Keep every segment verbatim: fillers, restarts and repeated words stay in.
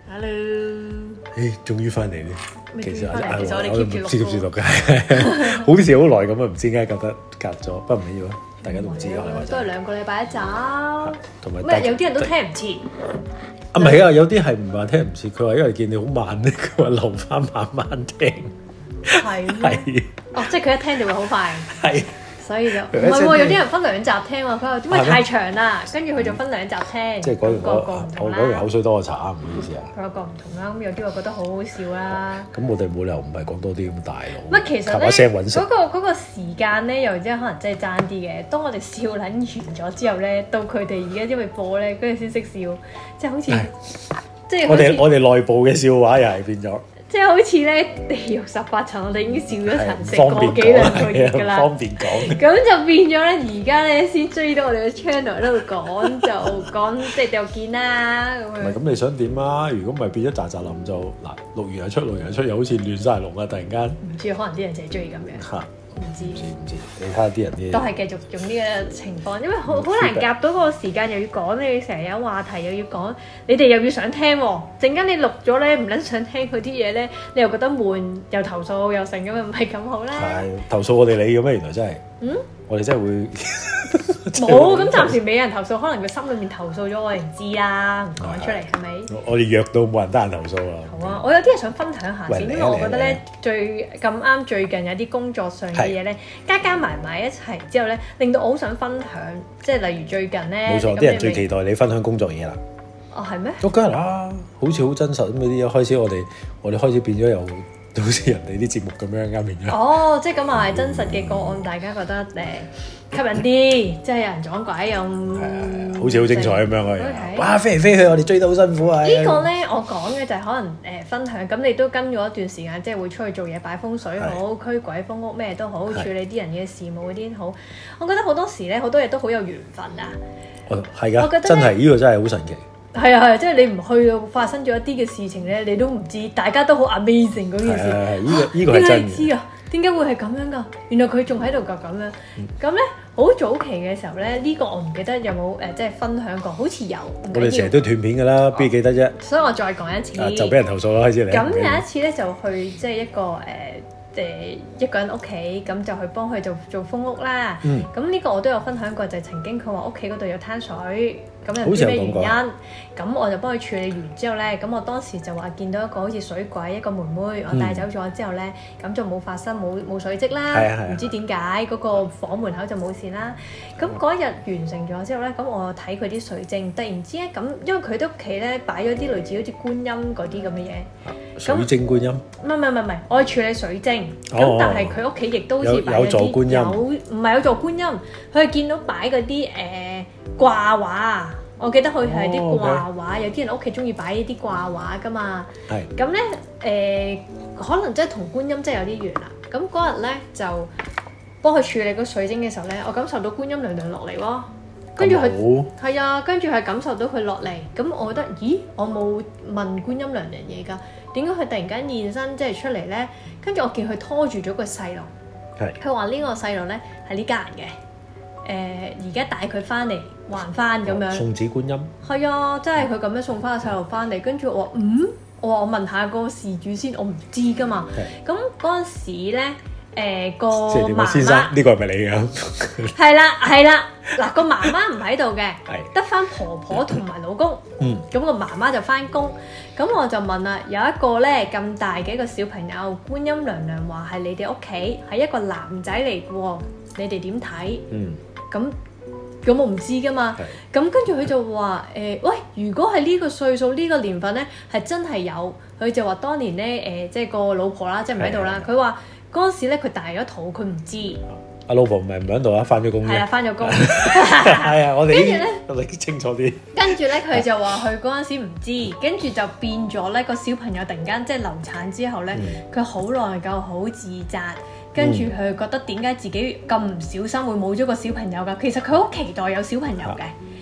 Hello， 誒，終於翻嚟咧。其實我哋 keep 住接住錄嘅，好似好耐咁啊！唔知點解覺得隔咗，不過唔緊要啊，大家都唔知啊。 都係兩個禮拜一集， 同埋咩有啲人都聽唔切。 啊，唔係啊，有啲係唔話聽唔切，佢話因為見你好慢咧，佢話留翻慢慢聽。 係係。哦，即係佢一聽就會好快。係。所以就唔係喎，有啲人分兩集聽喎。佢話點解太長啦？跟住佢就分兩集聽。 即係講完個個唔同啦。 我講完口水多過茶，唔好意思啊。 個個唔同啦，咁有啲話覺得好好笑啦。 咁我哋冇理由唔係講多啲咁大腦。 乜其實咧，嗰個嗰個時間咧，又真係可能真係爭啲嘅。當我哋笑撚完咗之後咧，到佢哋而家因為播咧，跟住先識笑，即係好似即係我哋我哋內部嘅笑話又係變咗。即係好似咧地獄十八層，我哋已經笑咗層成個幾兩個月㗎啦。方便講。咁就變咗咧，而家咧先追到我哋嘅 channel 喺度講，就講即係就見啦咁樣。唔係咁你想點啊？如果唔係變咗喳喳林就嗱，錄完又出，錄完又出，又好似亂晒龍啊！突然間。唔知可能啲人就係中意咁樣。嚇。唔知唔知唔知，你睇下啲人啲都係繼續用呢個情況，因為好好難夾到嗰個時間，又要講你成日有話題，又要講你哋又要想聽喎。陣間你錄咗咧，唔撚想聽佢啲嘢咧，你又覺得悶，又投訴又成咁樣，唔係咁好啦。係投訴我哋你嘅咩？原來真係，嗯，我哋真係會冇咁暫時未有人投訴，可能佢心裏面投訴咗，我哋唔知啦，唔講出嚟係咪？我哋約到冇人得閒投訴啦。好啊，我有啲嘢想分享下先，因為我覺得咧最咁啱最近有啲工作上嘅嘢咧，加加埋埋一齊之後咧，令到我好想分享，即係例如最近咧，冇錯，啲人最期待你分享工作嘢啦。哦，係咩？梗係啦，好似好真實咁嗰啲，開始我哋我哋開始變咗又好似人哋啲節目咁樣啱變咗。哦，即係咁啊，係真實嘅個案，大家覺得誒吸引啲，即係有人撞鬼又好似好精彩咁樣嘅。哇，飛嚟飛去，我哋追得好辛苦啊！呢個咧，我講嘅就係可能誒分享，咁你都跟咗一段時間，即係會出去做嘢，擺風水好，驅鬼封屋咩都好，處理啲人嘅事務嗰啲好。我覺得好多時咧，好多嘢都好有緣分啊！哦，係㗎，我覺得真係呢個真係好神奇。係啊係啊，即係你唔去到發生咗一啲嘅事情咧，你都唔知，大家都好 amazing 嗰件事。係係係，呢個呢個係真嘅。點解你知啊？點解會係咁樣㗎？原來佢仲喺度㗎咁樣。咁咧好早期嘅時候咧，呢個我唔記得有冇誒即係分享過，好似有。我哋成日都斷片㗎啦，邊記得啫？所以我再講一次。就俾人投訴啦，開始嚟。咁有一次咧，就去即係一個誒。誒一個人屋企咁就去幫佢做做封屋啦。咁呢、嗯、個我都有分享過，就係、曾經佢話屋企嗰度有灘水，咁又唔知咩原因。咁我就幫佢處理完之後咧，咁我當時就話見到一個好似水鬼一個妹妹，我帶走咗之後咧，咁、嗯、就冇發生冇冇水漬啦。唔、嗯、知點解嗰個房門口就冇事啦。咁嗰日完成咗之後咧，咁我睇佢啲水晶，突然之間咁，因為佢啲屋企咧擺咗啲類似好似觀音嗰啲咁嘅嘢。水晶觀音？唔係唔係唔係，我係處理水晶。咁、哦、但係佢屋企亦都好似擺咗啲有，唔係有座觀音，佢係見到擺嗰啲誒掛畫。我記得佢係啲掛畫，哦 okay. 有啲人屋企中意擺呢啲掛畫噶嘛。係。咁咧誒，可能真係同觀音真係有啲緣啦。咁嗰日咧就幫佢處理個水晶嘅時候咧，我感受到觀音娘娘落嚟喎。跟住佢係啊，跟住係感受到佢落嚟。咁我覺得，咦？我冇問觀音娘娘嘢㗎。點解佢突然間現身即係出嚟咧？跟住我見佢拖住咗個細路，佢話呢個細路咧係呢家人嘅，誒而家帶佢翻嚟還翻咁樣。送子觀音係啊，真係佢咁樣送翻個細路翻嚟。跟住我話嗯，我話我問下個事主先，我唔知㗎嘛。咁嗰陣時咧。誒、呃、個媽媽先生呢、呢個係咪你㗎？係啦係啦，嗱個媽媽唔喺度嘅，得翻婆婆同埋老公。嗯，咁個媽媽就翻工。咁我就問啦，有一個咧咁大嘅一個小朋友，觀音娘娘話係你哋屋企係一個男仔嚟嘅喎，你哋點睇？嗯，咁咁我唔知㗎嘛。咁跟住佢就話誒、呃，喂，如果係呢個歲數呢、呢個年份咧，係真係有。佢就話當年咧誒、呃，即係個老婆啦，即係唔喺度啦。佢話。嗰陣時咧，佢大咗肚，佢唔知。阿老婆唔係唔喺度啊，翻咗工。係啊，翻咗工。係啊，我哋跟住咧，我哋清楚啲。跟住咧，佢就話佢嗰陣時唔知，跟住就變咗咧個小朋友突然間即係流產之後咧，佢好內疚，好自責，跟住佢覺得點解自己咁唔小心會冇咗個小朋友㗎？其實佢好期待有小朋友嘅。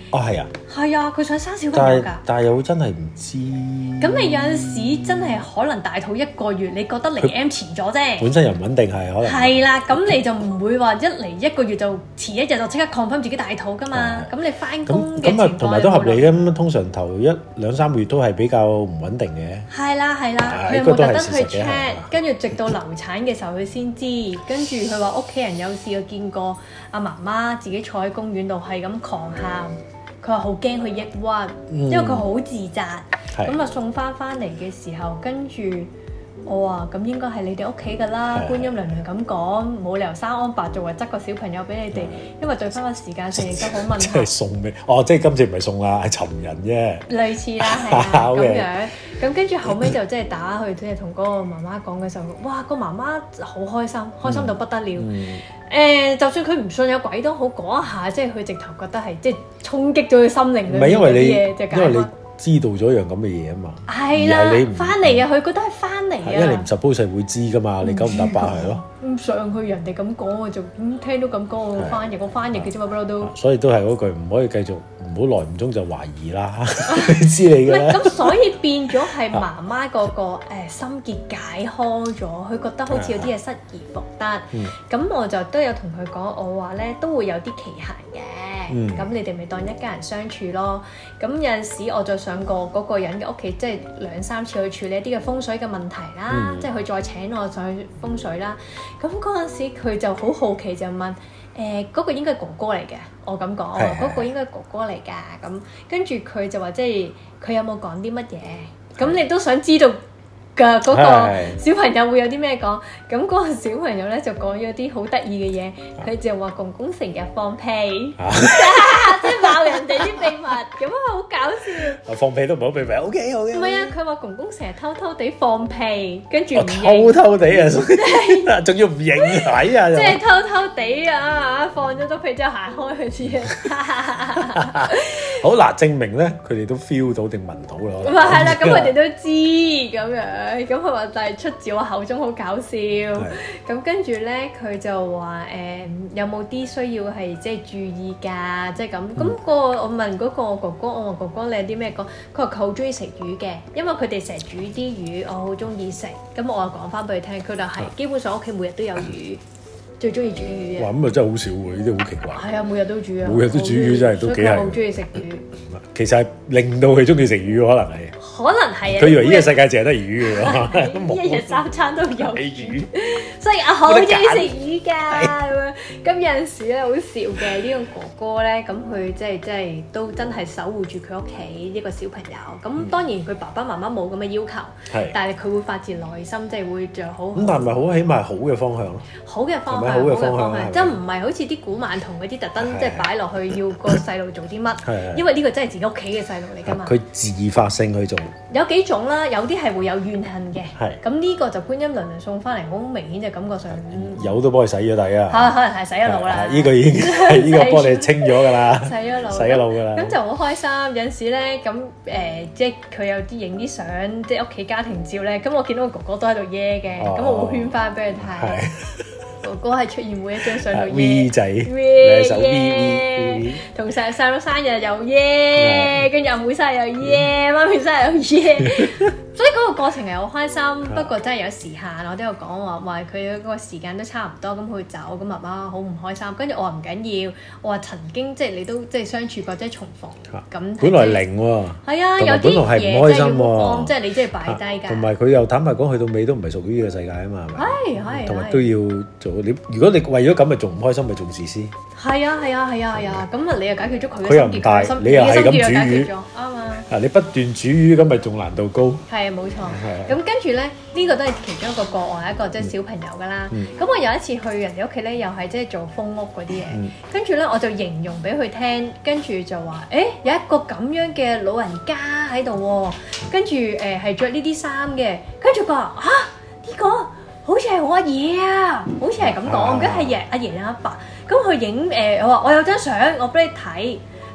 哦，係啊， 係啊，佢想生小朋友㗎。 但係又真係唔知。 咁你有陣時真係可能大肚一個月，你覺得嚟 M 遲咗啫。 本身又唔穩定係可能。係啦，咁你就唔會話一嚟一個月就遲一日就即刻 confirm自己大肚㗎嘛。咁你翻工嘅情況咁啊， 同埋都合理嘅。咁通常頭一兩三個月都係比較唔穩定嘅。係啦係啦，佢有冇特登去 check？ 跟住直到流產嘅時候佢先知。跟住佢話屋企人有試過見過阿媽媽自己坐喺公園度係咁狂喊。佢話好驚佢抑鬱，因為佢好自責。咁啊送翻翻嚟嘅時候，跟住我話咁應該係你哋屋企㗎啦。觀音娘娘咁講，冇理由生安白做，話執個小朋友俾你哋，因為對翻個時間性亦都好問題。即係送俾哦，即係今次唔係送啦，係尋人啫。 類似啦，係啊，咁樣。咁跟住後尾就即係打去，即係同嗰個媽媽講嘅時候，哇！個媽媽好開心，開心到不得了。誒、嗯嗯呃，就算佢唔信有鬼都好，嗰一下即係佢直頭覺得係即係衝擊咗佢心靈裏面嗰啲嘢，就因為你知道咗樣咁嘅嘢啊嘛。 係啦，翻嚟啊！佢覺得係翻嚟啊。 因為你唔 suppose 會知噶嘛，你九唔搭八係咯。 咁上去人哋咁講，我就咁聽到咁講，我翻譯我翻譯嘅啫嘛，不嬲都。 所以都係嗰句，唔可以繼續。唔好耐唔中就懷疑啦，你知你㗎啦。 咁所以變咗係媽媽嗰個誒心結解開咗，佢覺得好似有啲嘢失而復得。咁、嗯、我就都有同佢講，我話咧都會有啲期限嘅。咁、嗯、你哋咪當一家人相處咯。咁有陣時我就上過嗰個人嘅屋企，即係兩三次去處理一啲嘅風水嘅問題啦。嗯、即係佢再請我上去風水啦。咁嗰陣時佢就好好奇就問。誒嗰、呃嗰個應該係哥哥嚟嘅，我咁講，嗰個應該係哥哥嚟㗎，咁跟住佢就話即係佢有冇講啲乜嘢，咁你都想知道㗎嗰個小朋友會有啲咩講，咁嗰個小朋友咧就講咗啲好得意嘅嘢，佢就話公公成日放屁。即係爆人哋啲秘密，咁啊好搞笑！ 放屁都唔好秘密，O K O K。唔係啊，佢話公公成日偷偷地放屁，跟住唔認。偷偷地啊，仲要唔認睇啊！ 即係偷偷地啊，放咗咗屁之後行開去先。 好嗱，證明咧佢哋都 feel 到定聞到啦。 咁啊係啦，咁佢哋都知咁樣，咁佢話就係出自我口中好搞笑。咁跟住咧，佢就話誒有冇啲需要係即係注意㗎，即係咁。咁、嗯、個我問嗰個哥哥，我話哥哥你有啲咩講？佢話佢好中意食魚嘅，因為佢哋成日煮啲魚，我好中意食。咁我又講翻俾佢聽，佢就係基本上屋企每日都有魚，最中意煮魚嘅。哇！ 咁啊真係好少喎，呢啲好奇怪。 係啊，每日都煮啊。每日都煮魚真係都幾係。所以佢好中意食魚。 其實係令到佢中意食魚，可能係。 可能係啊！ 佢以為呢個世界淨係得魚嘅喎， 一日三餐都有魚，所以我好中意食魚㗎咁樣。咁有陣時咧好笑嘅呢個哥哥咧，咁佢即係即係都真係守護住佢屋企呢個小朋友。咁當然佢爸爸媽媽冇咁嘅要求，但係佢會發自內心即係會做好。咁但係咪好起碼係好嘅方向咯？ 好嘅方向，好嘅方向，即係唔係好似啲古曼童嗰啲特登即係擺落去要個細路做啲乜？因為呢個真係自己屋企嘅細路嚟㗎嘛。 佢自發性去做。 有幾種啦，有啲係會有怨恨嘅，咁呢個就觀音娘娘送翻嚟，好明顯就感覺上有都幫佢洗咗底啊， 嚇可能係洗咗腦啦， 呢個已經係呢個幫你清咗㗎啦， 洗咗腦， 洗咗腦㗎啦， 咁就好開心。有陣時咧，咁誒即係佢有啲影啲相，即係屋企家庭照咧，咁我見到個哥哥都喺度耶嘅，咁我會圈翻俾佢睇。哥哥係出現每一張相度耶 V 仔， 耶耶，同細細佬生日又耶，跟住阿妹生日又耶，媽咪生日又耶，所以嗰個過程係好開心。不過真係有時限，我都有講話話佢嗰個時間都差唔多，咁佢走，咁媽媽好唔開心。跟住我話唔緊要，我話曾經即係你都即係相處過，即係重逢咁。 本來零喎， 係啊，有啲嘢真係要放，即係你即係擺低㗎。同埋佢又坦白講，去到尾都唔係屬於呢個世界啊嘛，係咪？ 係係， 同埋都要做。你如果你為咗咁咪仲唔開心，咪仲自私。 係啊係啊係啊係啊，咁啊你又解決咗佢嘅心結， 佢又唔大，你又係咁煮魚， 啱啊！ 啊你不斷煮魚咁咪仲難度高。 係啊冇錯。咁跟住咧，呢個都係其中一個個案，一個即係小朋友㗎啦。咁我有一次去人哋屋企咧，又係即係做封屋嗰啲嘢。跟住咧我就形容俾佢聽，跟住就話：誒有一個咁樣嘅老人家喺度喎，跟住誒係著呢啲衫嘅，跟住佢話嚇呢個。好似係我阿爺啊，好似係咁講，唔記得係爺阿爺定阿爸。咁佢影誒，我話我有張相，我俾你睇，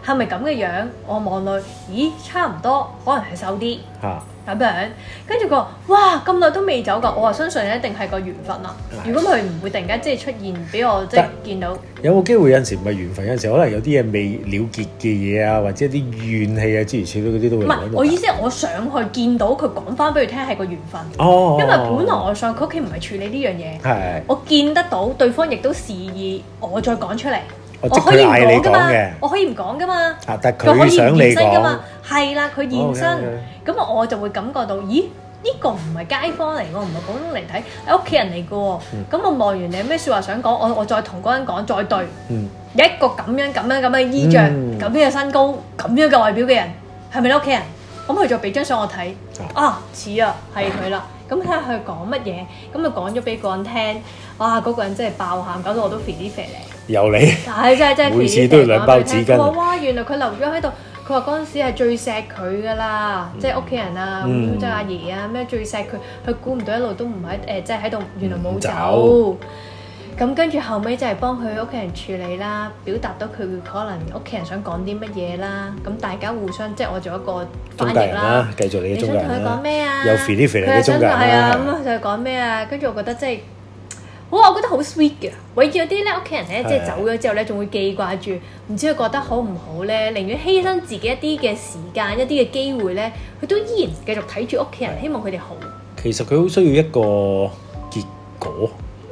係咪咁嘅樣？我望落，咦，差唔多，可能係瘦啲。嚇。咁樣，跟住佢話：哇，咁耐都未走㗎！我話相信一定係個緣分啦。如果佢唔會突然間即係出現俾我即係見到。有冇機會有陣時唔係緣分？有陣時可能有啲嘢未了結嘅嘢啊，或者啲怨氣啊，諸如此類嗰啲都會。唔係，我意思係我上去見到佢講翻俾佢聽係個緣分。哦。因為本來我上佢屋企唔係處理呢樣嘢。係。我見得到對方亦都示意我再講出嚟。我可以唔講㗎嘛，我可以唔講㗎嘛，啊、但佢可以想你講，係啦，佢現身，咁、oh, 我就會感覺到，咦？呢、呢個唔係街坊嚟喎，唔係普通嚟睇，係屋企人嚟嘅喎。咁、嗯、我望完你有咩説話想講，我我再同嗰人講，再對，嗯、一個咁樣咁樣咁嘅衣着，咁、嗯、樣嘅身高，咁樣嘅外表嘅人，係咪你屋企人？咁佢就俾張相我睇，啊似啊，係佢啦。咁睇下佢講乜嘢，咁就講咗俾個人聽，哇！嗰、嗰個人真係爆喊，搞到我都肥啲肥嚟。有你，係真係真係，每次都要兩包紙巾。哇！原來佢留咗喺度，佢話嗰陣時係最錫佢噶啦，嗯、即係屋企人啊，即係阿爺啊，咩最錫佢，佢估唔到一路都唔喺誒，即係喺度，原來冇走。咁跟住後尾就係幫佢屋企人處理啦，表達到佢可能屋企人想講啲乜嘢啦。咁大家互相即係我做一個翻譯啦，繼續你中間啦。你想同佢講咩啊？有肥啲肥嚟嘅中間啦。係啊，咁就係講咩啊？跟住我覺得即係，哇！我覺得好 sweet 嘅。為咗啲咧屋企人咧，即係走咗之後咧，仲會記掛住，唔知佢覺得好唔好咧？寧願犧牲自己一啲嘅時間、一啲嘅機會咧，佢都依然繼續睇住屋企人，希望佢哋好。其實佢好需要一個結果。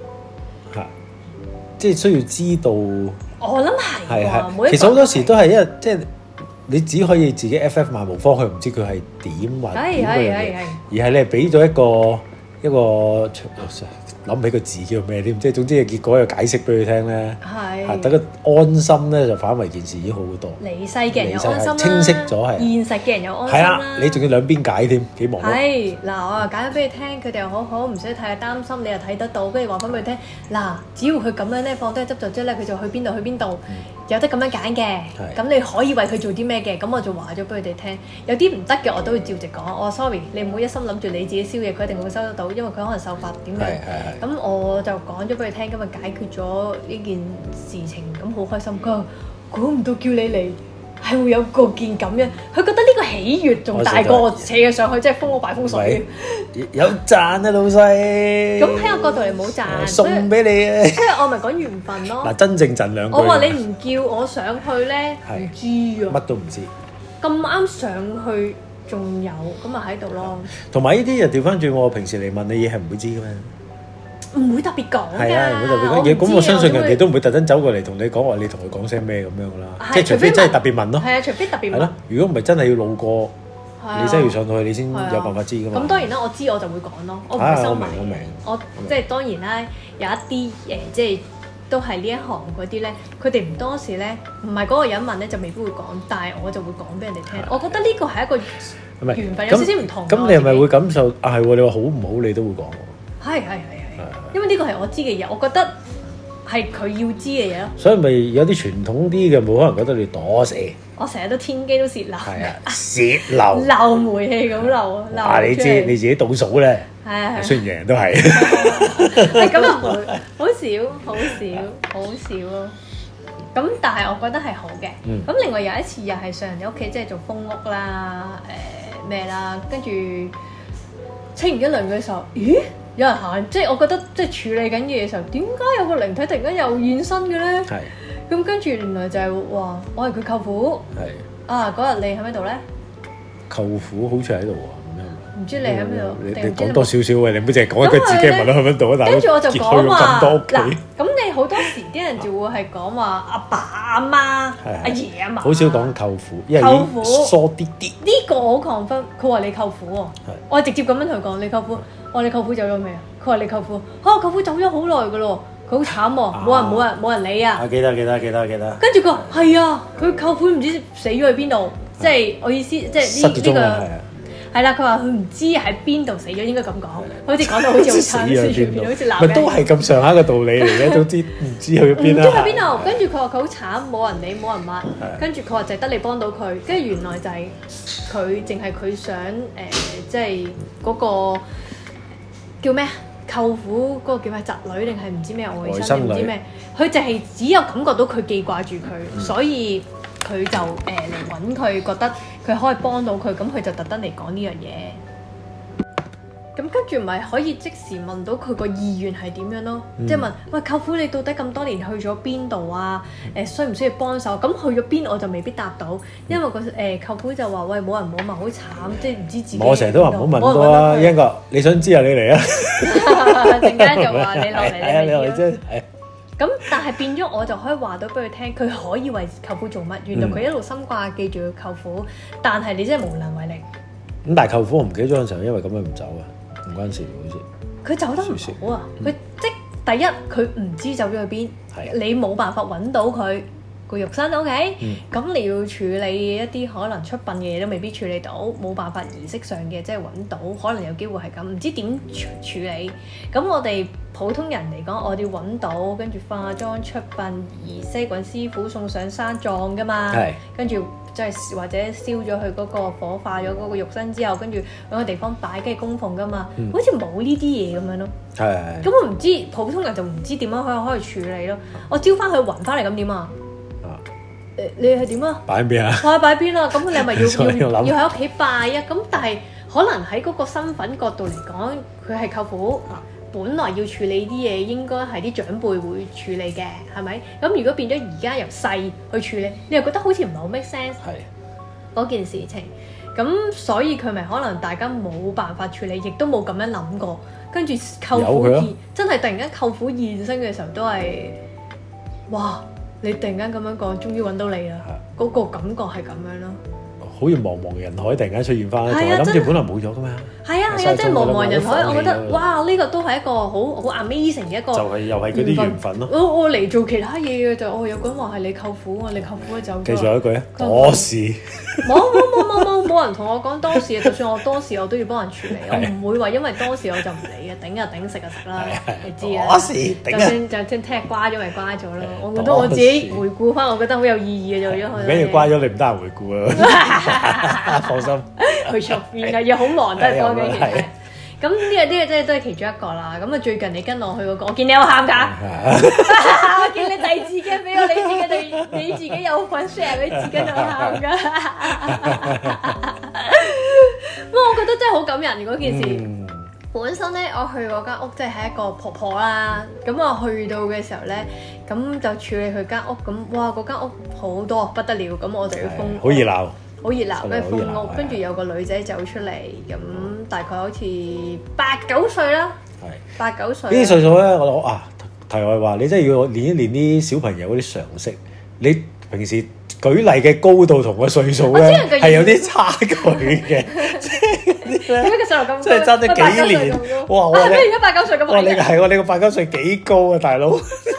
即係需要知道，我諗係喎。其實好多時都係因為即係你只可以自己 F F 漫無方向，唔知佢係點或點嗰樣嘢，而係你係俾咗一個一個諗唔起個字叫咩添，即係總之嘅結果有解釋俾佢聽咧，係等佢安心咧，就反為件事已經好好多。離世嘅人有安心啦，清晰咗係。現實嘅人有安心啦。係啊，你仲要兩邊解添，幾忙。係嗱，我又解咗俾你聽，佢哋又好好，唔使太擔心，你又睇得到，跟住話翻俾佢聽。嗱，只要佢咁樣咧，放低執著之後咧，佢就去邊度去邊度，有得咁樣揀嘅。咁你可以為佢做啲咩嘅？咁我就話咗俾佢哋聽。有啲唔得嘅，我都會照直講。我話 sorry，你唔好一心諗住你自己燒嘢，佢一定會收得到，因為佢可能受罰點樣。咁我就講咗俾佢聽，今日解決咗呢件事情，咁好開心。佢話估唔到叫你嚟係會有個件咁樣，佢覺得呢個喜悅仲大過扯佢上去，即係封我擺風水。有賺啊，老細！咁喺我角度你冇賺，送俾你啊！即係我咪講緣分咯。嗱，真正賺兩句。我話你唔叫我上去咧，唔知啊，乜都唔知。咁啱上去仲有，咁咪喺度咯。同埋呢啲人調翻轉，我平時嚟問你嘢係唔會知嘅咩？唔會特別講㗎，係啊，唔會特別講嘢。咁我相信人哋都唔會特登走過嚟同你講話，你同佢講聲咩咁樣㗎啦。即係除非真係特別問咯。係啊，除非特別問。係咯，如果唔係真係要路過，你真係要上到去，你先有辦法知㗎嘛。咁當然啦，我知我就會講咯，我唔會收埋。我明，我即係當然啦，有一啲誒，即係都係呢一行嗰啲咧，佢哋唔多時咧，唔係嗰個人問咧，就未必會講，但係我就會講俾人哋聽。我覺得呢個係一個緣分，有少少唔同。咁你係咪會感受啊？係喎，你話好唔好，你都會講喎。係係係。因為呢個係我知嘅嘢，我覺得係佢要知嘅嘢咯。所以咪有啲傳統啲嘅，冇可能覺得你躲蛇。我成日都天機都泄漏。係啊，泄漏。漏煤氣咁漏啊！漏。啊，你知你自己倒數咧。係啊係。雖然人人都係。係咁又唔會，好少好少好少咯。咁但係我覺得係好嘅。嗯。咁另外有一次又係上人哋屋企，即係做封屋啦，誒咩啦，跟住清完一輪嘅時候，咦？有人行，即係我覺得即係處理緊嘢嘅時候，點解有個靈體突然間又現身嘅咧？係。咁跟住原來就係話，我係佢舅父。係。啊，嗰日你喺邊度咧？舅父好似喺度喎，咁樣。唔知你喺邊度？你你講多少少嘅，你唔好淨係講一句自己問到喺邊度啊！大佬。跟住我就講話嗱，咁你好多時啲人就會係講話阿爸阿媽、阿爺阿嫲。好少講舅父，因為舅父疏啲啲。呢個好 confirm，佢話你舅父喎。係。我係直接咁樣同佢講，你舅父。我話你舅父走咗未啊？佢話你舅父嚇，舅父走咗好耐噶咯，佢好慘喎，冇人冇人冇人理啊！記得記得記得記得。跟住佢話係啊，佢舅父唔知死咗去邊度，即係我意思，即係呢呢個係啦。佢話佢唔知喺邊度死咗，應該咁講，好似講到好似好慘，好似鬧。咪都係咁上下嘅道理嚟嘅，都知唔知去邊啦。唔知去邊度？跟住佢話佢好慘，冇人理，冇人抹。跟住佢話就係得你幫到佢，跟住原來就係佢淨係佢想誒，即係嗰個。叫咩？舅父嗰個叫咩？侄女定係唔知咩外甥定唔知咩？佢就係只有感覺到佢記掛住佢，嗯、所以佢就誒嚟揾佢，覺得佢可以幫到佢，咁佢就特登嚟講呢樣嘢。咁跟住咪可以即時問到佢個意願係點樣咯，嗯、即係問喂舅父你到底咁多年去咗邊度啊？誒、呃、需唔需要幫手？咁去咗邊我就未必答到，因為個誒、呃、舅父就話喂冇人冇問好慘，即係唔知自己。我成日都話唔好問多啊， 英哥你想知啊你嚟啊， 陣間就話你落嚟你咪要。 咁但係變咗我就可以話到俾佢聽，佢可以為舅父做乜？原來佢一路心掛記住佢舅父，但係你真係無能為力。 咁但係舅父我唔記得咗嗰陣時候，因為咁樣唔走啊。唔關事，好似佢走得唔好啊！佢、嗯、即第一佢唔知走咗去邊，的你冇辦法揾到佢個肉身 ，OK？咁、嗯、你要處理一啲可能出殯嘅嘢都未必處理到，冇辦法儀式上嘅即係揾到，可能有機會係咁，唔知點處處理。咁我哋普通人嚟講，我哋要揾到，跟住化妝出殯儀式，揾師傅送上山葬㗎嘛，的跟住。即係或者燒咗佢嗰個火化咗嗰個肉身之後，跟住揾個地方擺，跟住供奉噶嘛，嗯、好似冇呢啲嘢咁樣咯。係係。咁我唔知普通人就唔知點樣可以可以處理咯。我招翻佢還翻嚟咁點啊？誒你係點啊？擺喺邊啊？擺擺邊啊？咁你係咪要要要喺屋企拜啊？咁但係可能喺嗰個身份角度嚟講，佢係舅父。本來要處理啲嘢，應該係啲長輩會處理嘅，係咪？咁如果變咗而家由細去處理，你又覺得好似唔係好 make sense 嗰件事情。咁所以佢咪可能大家冇辦法處理，亦都冇咁樣諗過。跟住舅父現真係突然間舅父現身嘅時候，都係哇！你突然間咁樣講，終於揾到你啦！嗰個感覺係咁樣咯。好似茫茫人海突然間出現翻，同埋諗住本來冇咗噶嘛。係啊係啊，即係茫茫人海，我覺得哇！呢個都係一個好好 amazing 嘅一個，就係又係嗰啲緣分咯。我我嚟做其他嘢嘅就，哦有個人話係你舅父啊，你舅父就記住一句啊，多事。冇冇冇冇冇冇人同我講多事啊！就算我多事，我都要幫人處理，我唔會話因為多事我就唔理嘅，頂就頂，食就食啦，你知啊。多事頂啊！就算就算聽日瓜咗咪瓜咗咯，我覺得我自己回顧翻，我覺得好有意義嘅做咗佢。唔緊要瓜咗，你唔得閒回顧啊！放心，去出邊啊，又好忙都係幫緊其他。咁呢個呢個真係都係其中一個啦。咁啊最近你跟我去嗰個，我見你有喊㗎，我見你遞紙巾俾我，你自己對你自己有份 share 俾紙巾度喊㗎。不過我覺得真係好感人嗰件事。本身咧，我去嗰間屋即係係一個婆婆啦。咁我去到嘅時候咧，咁就處理佢間屋。咁哇，嗰間屋好多不得了。咁我就要封，好熱鬧。好熱鬧，跟住封屋，跟住有個女仔走出嚟，咁大概好似八九歲啦，八九歲。呢啲歲數咧，我諗啊，題外話，你真係要練一練啲小朋友嗰啲常識。你平時舉例嘅高度同個歲數咧係有啲差距嘅，即係嗰啲咧，點解個細路咁高？即係爭咗幾年，哇！我你而家八九歲咁，哇！你係喎，你個八九歲幾高啊，大佬？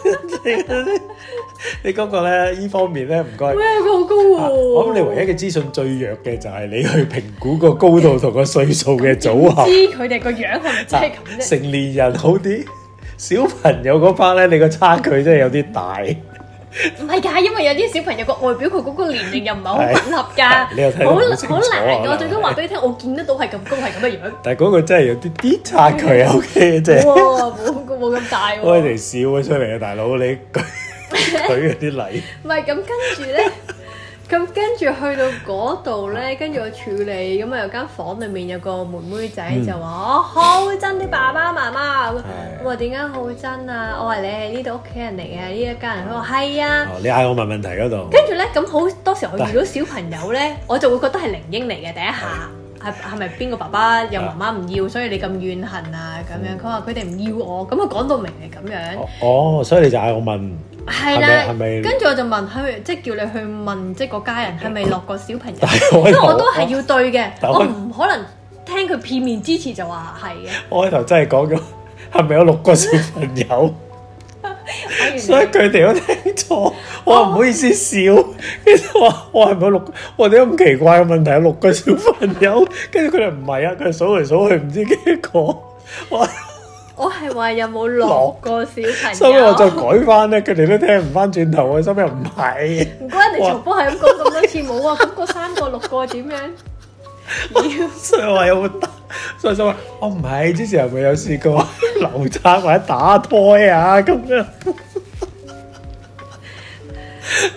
你嗰個咧，呢方面咧唔該。喂，佢好高喎、啊！我諗你唯一嘅資訊最弱嘅就係你去評估個高度同個歲數嘅組合。知佢哋個樣係咪真係咁啫？成年人好啲，小朋友嗰 part 咧，你個差距真係有啲大。唔係㗎，因為有啲小朋友個外表佢嗰個年齡又唔係好吻合㗎，你又睇得好清楚。好難㗎，我最多話俾你聽，我見得到係咁高係咁嘅樣。但係嗰個真係有啲啲差距啊 ，OK， 即係。哇！冇冇咁大喎。開嚟笑咗出嚟啊，大佬你。佢嗰啲禮，唔係咁跟住咧，咁跟住去到嗰度咧，跟住我處理，咁啊有間房裏面有個妹妹仔就話：我好憎啲爸爸媽媽。我話點解好憎啊？我話你係呢度屋企人嚟嘅，呢一家人。佢話係啊。你嗌我問問題嗰度。跟住咧，咁好多時我遇到小朋友咧，我就會覺得係靈嬰嚟嘅第一下。係係咪邊個爸爸又媽媽唔要，所以你咁怨恨啊？咁樣佢話佢哋唔要我，咁佢講到明係咁樣。哦，所以你就嗌我問。係啦，跟住我就問，係咪即係叫你去問，即係個家人係咪落個小朋友？因為我都係要對嘅，我唔可能聽佢片面之詞就話係嘅。我開頭真係講咗係咪有六個小朋友，所以佢哋都聽錯。我唔好意思笑，跟住話我係咪有六個？我點解咁奇怪嘅問題有六個小朋友？跟住佢哋唔係啊，佢哋數嚟數去唔知幾個。我我係話有冇六個小朋友？所以我再改翻咧，佢哋都聽唔翻轉頭啊！心又唔係，唔該你重複係咁講咁多次冇啊！咁嗰三個六個點樣？所以話有冇打？所以話我唔係之前係咪有試過流產或者打胎啊咁樣？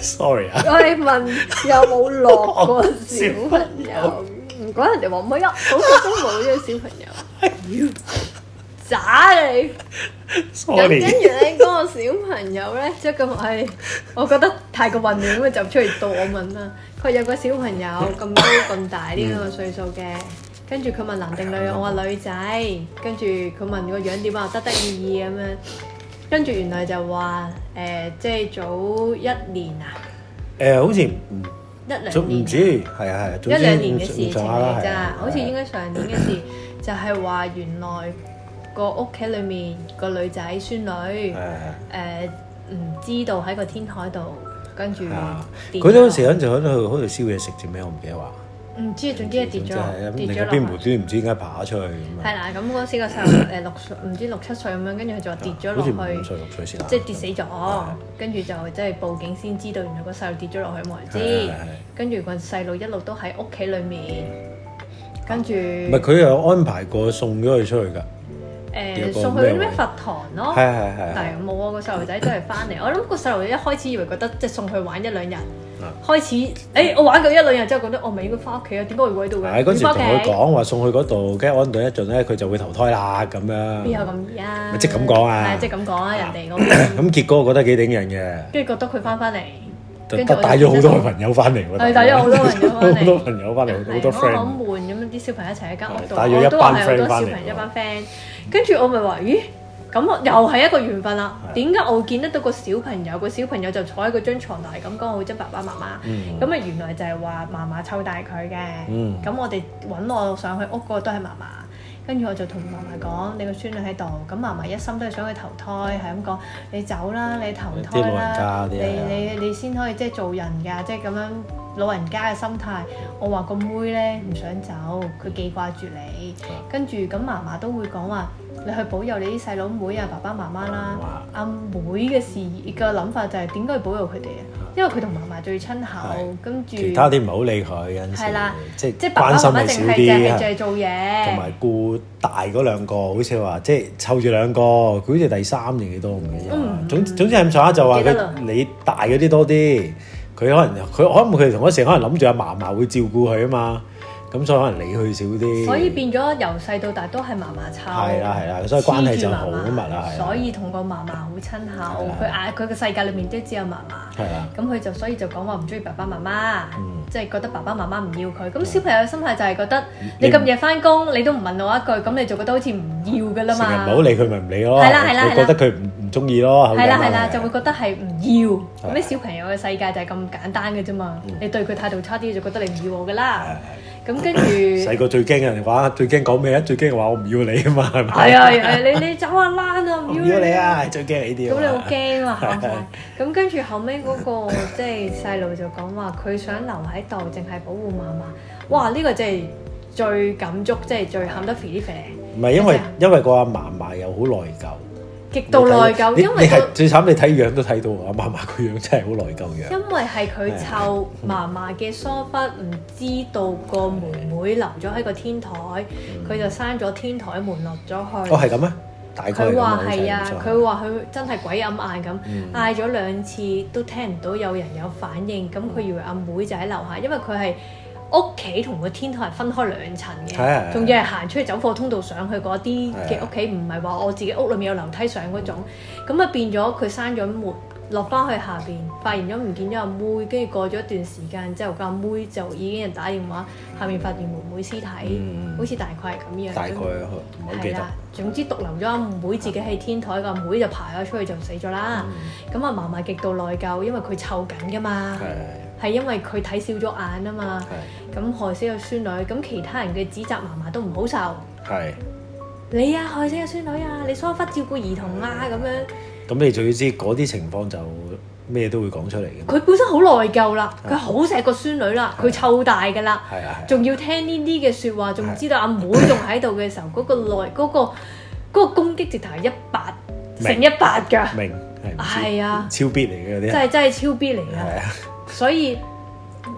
sorry 啊。 我哋問有冇落過小朋友，唔怪人哋話唔係啊，好似都冇呢個小朋友。渣你！咁跟住咧，嗰個小朋友咧，即係咁係，我覺得太過混亂咁就出嚟到我問啦。佢有個小朋友咁高咁大呢個歲數嘅，跟住佢問男定女，我話女仔，跟住佢問個樣點啊，得得意意咁樣，跟住原來就話誒，即係早一年啊， 誒好似唔一兩年， 唔知係啊係， 一兩年嘅事情嚟咋，好似應該上年嘅事，就係話原來。個屋企裏面個女仔孫女，誒唔知道喺個天台度，跟住跌。佢嗰陣時就喺度喺度燒嘢食啫咩？我唔記得話。唔知總之係跌咗，跌咗落。 邊無端唔知點解爬出去咁。 係啦，咁嗰時個細路誒六歲，唔知六七歲咁樣，跟住佢就話跌咗落去。 好似五歲六歲先。 即係跌死咗，跟住就即係報警先知道，原來個細路跌咗落去冇人知。跟住個細路一路都喺屋企裏面，跟住。唔係佢有安排過送咗佢出去㗎。 誒送去咩佛堂咯， 係係係， 但係冇啊！個細路仔都係翻嚟，我諗個細路仔一開始以為覺得即係送去玩一兩日，開始誒我玩夠一兩日之後覺得我咪應該翻屋企啊？點解會喺度嘅？ 係嗰時同佢講話送去嗰度，跟住安頓一陣咧，佢就會投胎啦咁樣。 邊有咁易啊？ 咪即係咁講啊！ 係即係咁講啊！人哋嗰邊咁結果我覺得幾頂人嘅， 跟住覺得佢翻翻嚟。 跟住帶咗好多朋友翻嚟喎， 係帶咗好多朋友翻嚟， 好多朋友翻嚟，好多 friend。 好悶咁樣，啲小朋友一齊喺間屋度， 帶咗一班 friend 翻嚟， 一班 friend。跟住我咪話：咦，咁又係一個緣分啦。點解我會見得到個小朋友？個小朋友就坐喺嗰張牀度係咁講，我會憎爸爸媽媽。咁啊，原來就係話嫲嫲湊大佢嘅。咁我哋揾我上去屋嗰個都係嫲嫲。跟住我就同嫲嫲講：你個孫女喺度，咁嫲嫲一心都係想去投胎，係咁講：你走啦，你投胎啦，你你你先可以即係做人㗎，即係咁樣老人家嘅心態。我話個妹咧唔想走，佢記掛住你。跟住咁嫲嫲都會講話：你去保佑你啲細佬妹啊，爸爸媽媽啦。阿妹嘅事嘅諗法就係點解要保佑佢哋啊？因為佢同嫲嫲最親厚，跟住其他啲唔好理佢，有陣時即係即係關心咪少啲，淨係做嘢， 同埋顧大嗰兩個，好似話即係湊住兩個，佢好似第三定幾多唔記得。嗯，總總之係咁上下就話佢你大嗰啲多啲，佢可能佢可能佢同嗰時可能諗住阿嫲嫲會照顧佢啊嘛。咁所以可能理佢少啲，所以變咗由細到大都係嫲嫲湊，係啦係啦，所以關係就好密啦，所以同個嫲嫲好親厚，佢嗌佢個世界裏面都只有嫲嫲，係啦，咁佢就所以就講話唔中意爸爸媽媽，即係覺得爸爸媽媽唔要佢，咁小朋友嘅心態就係覺得你咁夜翻工，你都唔問我一句，咁你就覺得好似唔要噶啦嘛，成日唔好理佢咪唔理咯，係啦係啦，覺得佢唔唔中意咯，係啦係啦，就會覺得係唔要，咁啲小朋友嘅世界就係咁簡單嘅啫嘛，你對佢態度差啲就覺得你唔要我噶啦。咁跟住細個最驚人話，最驚講咩啊？最驚話我唔要你啊嘛，係咪？係啊係，你你走啊躝啊，唔要你啊！最驚呢啲。咁你好驚啊嚇！咁跟住後尾嗰個即係細路就講話，佢想留喺度，淨係保護嫲嫲。哇！呢個真係最感觸，即係最喊得肥啲肥。唔係因為因為個阿嫲嫲又好內疚。極度內疚，因為你係最慘，你睇樣都睇到啊！嫲嫲個樣真係好內疚樣。因為係佢湊嫲嫲嘅疏忽，唔知道個妹妹留咗喺個天台，佢就閂咗天台門落咗去。哦，係咁咩？大概佢話係啊，佢話佢真係鬼咁嗌咁，嗌咗兩次都聽唔到有人有反應，咁佢以為阿妹就喺樓下，因為佢係。屋企同個天台係分開兩層嘅，仲要係行出去走貨通道上去嗰啲嘅屋企，唔係話我自己屋裏面有樓梯上嗰種，咁啊變咗佢閂咗門，落翻去下邊，發現咗唔見咗阿妹，跟住過咗一段時間之後，個阿妹就已經人打電話，下面發現妹妹屍體，嗯、好似大概係咁樣。大概唔好記得。係啦，總之獨留咗阿妹自己喺天台，個阿妹就爬咗出去就死咗啦。咁啊嫲嫲極度內疚，因為佢湊緊噶嘛。係因為佢睇少咗眼啊嘛，咁害死個孫女，咁其他人嘅指責嫲嫲都唔好受。係你啊，害死個孫女啊，你疏忽照顧兒童啊咁樣。咁你仲要知嗰啲情況就咩都會講出嚟嘅。佢本身好內疚啦，佢好錫個孫女啦，佢湊大㗎啦，仲要聽呢啲嘅説話，仲知道阿妹仲喺度嘅時候，嗰個內嗰個嗰個攻擊直頭係一百成一百㗎。明係啊，超必嚟嘅嗰啲，真係真係超必嚟㗎。所以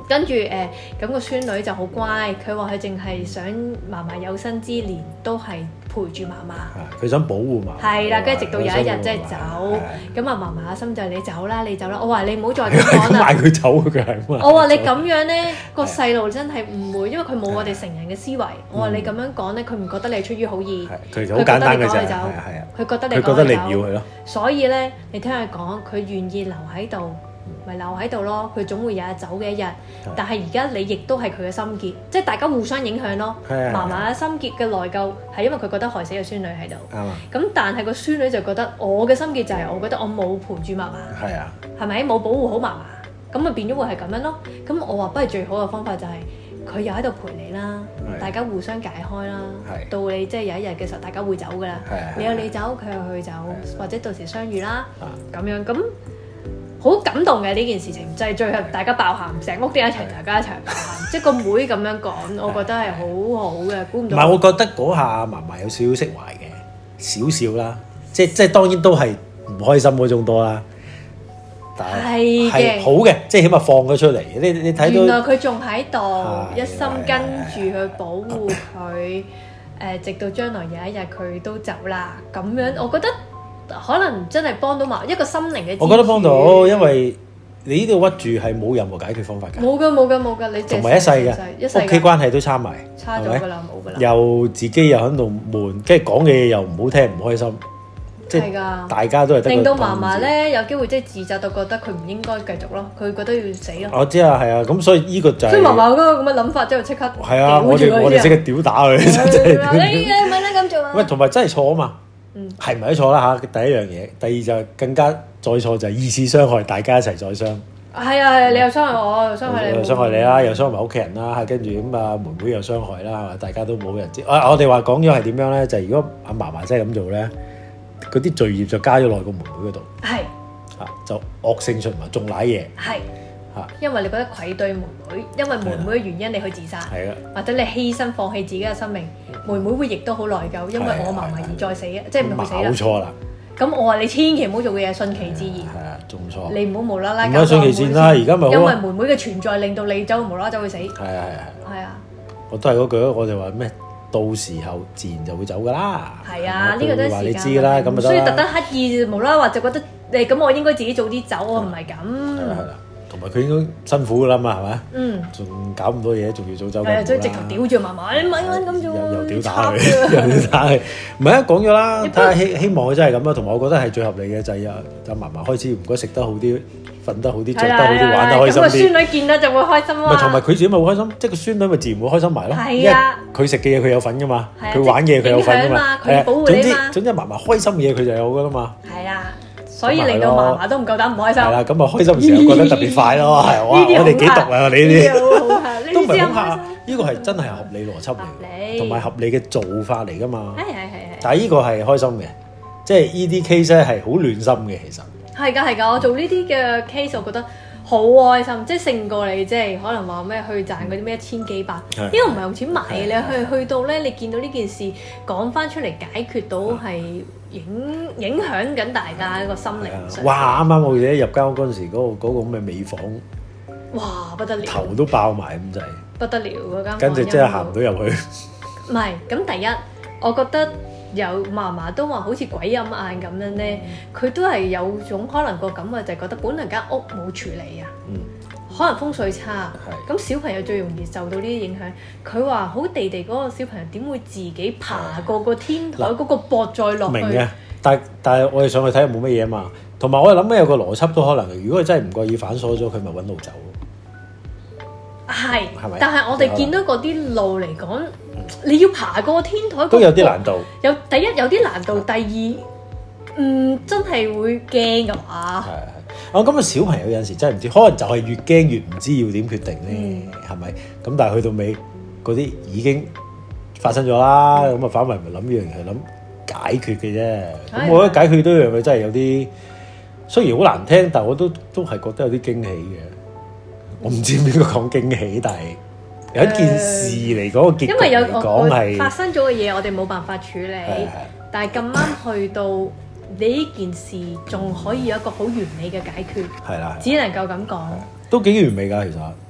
跟住誒，咁、呃個孫女就好乖，佢話佢淨係想嫲嫲有生之年都係陪住嫲嫲。 佢想保護嫲嫲。係啦，跟住直到有一日即係走，咁啊嫲嫲阿心就你走啦，你走啦。我話你唔好再咁講啦。嗌佢走佢係。我話你咁樣咧，個細路真係唔會，因為佢冇我哋成人嘅思維。我話你咁樣講咧，佢唔覺得你出於好意。佢好簡單嘅啫。佢覺得你講佢走。佢覺得你唔要佢咯。所以咧，你聽佢講，佢願意留喺度。咪留喺度咯，佢總會有日走嘅一日。但係而家你亦都係佢嘅心結，即係大家互相影響咯。嫲嫲嘅心結嘅內疚係因為佢覺得害死個孫女喺度。咁、嗯、但係個孫女就覺得我嘅心結就係我覺得我冇陪住嫲嫲。係啊。係咪冇保護好嫲嫲？咁咪變咗會係咁樣咯。咁我話不如最好嘅方法就係、是、佢又喺度陪你啦，大家互相解開啦。到你即係有一日嘅時候，大家會走㗎啦。你有你走，佢有佢走，或者到時相遇啦。咁樣咁。好感動嘅呢件事情，就係、是、最後大家爆喊，成屋啲一齊，大家一齊爆喊，即係個妹咁樣講，我覺得係好好嘅，估唔到。唔係，我覺得嗰下嫲嫲有少少釋懷嘅，少少啦，即係即係當然都係唔開心嗰種多啦。但係係好嘅，即係起碼放咗出嚟。你你睇到原來佢仲喺度，一心跟住去保護佢，誒，直到將來有一日佢都走啦。咁樣我覺得。可能真係幫到埋一個心靈嘅支柱。我覺得幫到，因為你呢度屈住係冇任何解決方法㗎。冇㗎冇㗎冇㗎，你同埋一世嘅屋企關係都差埋，差咗㗎啦，冇㗎啦。又自己又喺度悶，跟住講嘅嘢又唔好聽，唔開心，即係大家都係令到嫲嫲咧有機會即係自責到覺得佢唔應該繼續咯，佢覺得要死咯。我知啊，係啊，咁所以呢個就係。所以嫲嫲嗰個咁嘅諗法之後即刻係啊，我哋我哋即刻屌打佢，真係。你你咪咧咁做啊？喂，同埋真係錯啊嘛。係咪都錯啦嚇？第一樣嘢，第二就更加再錯就係二次傷害，大家一齊再傷。係啊，你又傷害我，又傷害你，又傷害你啦，又傷害埋屋企人啦。跟住咁啊，妹妹又傷害啦，係嘛？大家都冇人知。啊，我哋話講咗係點樣咧？就係、是、如果阿嫲嫲真係咁做咧，嗰啲罪孽就加咗落個妹妹嗰度。係啊，就惡性循環，仲賴嘢。係。因為你覺得愧對妹妹，因為妹妹嘅原因你去自殺，或者你犧牲放棄自己嘅生命，妹妹會亦都好內疚，因為我嫲嫲而再死啊，即係唔會死啦。冇錯啦。咁我話你千祈唔好做嘅嘢，順其自然。係啊，仲錯。你唔好無啦啦。唔好順其自然啦，而家咪因為妹妹嘅存在令到你走無啦啦走去死。係啊係啊係。係啊。我都係嗰句咯，我哋話咩？到時候自然就會走噶啦。係啊，呢個都係時間。你知㗎啦，咁咪得啦。所以特登刻意無啦啦話就覺得誒咁，我應該自己早啲走，我唔係咁。係啦係啦。同埋佢應該辛苦噶啦嘛，係咪？嗯。仲搞咁多嘢，仲要早走。係啊，所以直頭屌住嫲嫲，你咪撚咁做。又又屌打佢，又屌打佢。唔係啊，講咗啦，睇下希希望佢真係咁啦。同埋我覺得係最合理嘅就係啊，就嫲嫲開始唔該食得好啲，瞓得好啲，著得好啲，玩得開心啲。咁個孫女見到就會開心啊。咪同埋佢自己咪好開心，即係個孫女咪自然會開心埋咯。係啊。佢食嘅嘢佢有份噶嘛，佢玩嘅嘢佢有份噶嘛。佢保護你嘛。總之嫲嫲開心嘅嘢佢就有噶啦嘛。係啊。所以令到嫲嫲都唔夠膽唔開心。係啦，咁啊開心嘅時候覺得特別快咯，係哇！我哋幾毒啊！你呢啲都唔係好嚇，呢個係真係合理邏輯嚟，同埋合理嘅做法嚟噶嘛。係係係係。但係呢個係開心嘅，即係呢啲 case 咧係好暖心嘅，其實。係㗎係㗎，我做呢啲嘅 case，我覺得好開心，即係勝過你即係可能話咩去賺嗰啲咩一千幾百，呢個唔係用錢買嘅，你去去到咧，你見到呢件事講翻出嚟解決到係。影影響緊大家一個心靈上。哇！啱啱我哋入間屋嗰陣時，嗰、嗰個嗰、嗰個咁嘅美房，哇不得了，頭都爆埋咁滯，不得了嗰間房。跟住即係行唔到入去。唔係，咁第一，我覺得有嫲嫲都話好似鬼咁眼咁樣咧，佢、嗯、都係有種可能個感覺就係覺得本來間屋冇處理啊。嗯。可能風水差，咁小朋友最容易受到呢啲影響。佢話好地地嗰個小朋友點會自己爬過個天台嗰個膊再落去？明嘅，但但係我哋上去睇又冇乜嘢啊嘛。同埋我哋諗緊有個邏輯都可能嘅。如果佢真係唔覺意反鎖咗，佢咪揾路走。係，係咪？但係我哋見到嗰啲路嚟講，你要爬過天台都有啲難度。有第一有啲難度，第二嗯真係會驚㗎嘛。哦，咁啊小朋友有陣時真係唔知，可能就係越驚越唔知要點決定咧，係咪、嗯？咁但係去到尾嗰啲已經發生咗啦，咁啊、嗯、反為咪諗呢樣嘢，諗解決嘅啫。咁、嗯、我覺得解決呢樣嘢真係有啲，雖然好難聽，但係我都都係覺得有啲驚喜嘅。我唔知邊個講驚喜，但係有一件事嚟講個結局嚟講係發生咗嘅嘢，我哋冇辦法處理。嗯、但係咁啱去到。你呢件事仲可以有一個好完美嘅解決，係啦，只能夠咁講，都幾完美㗎，其實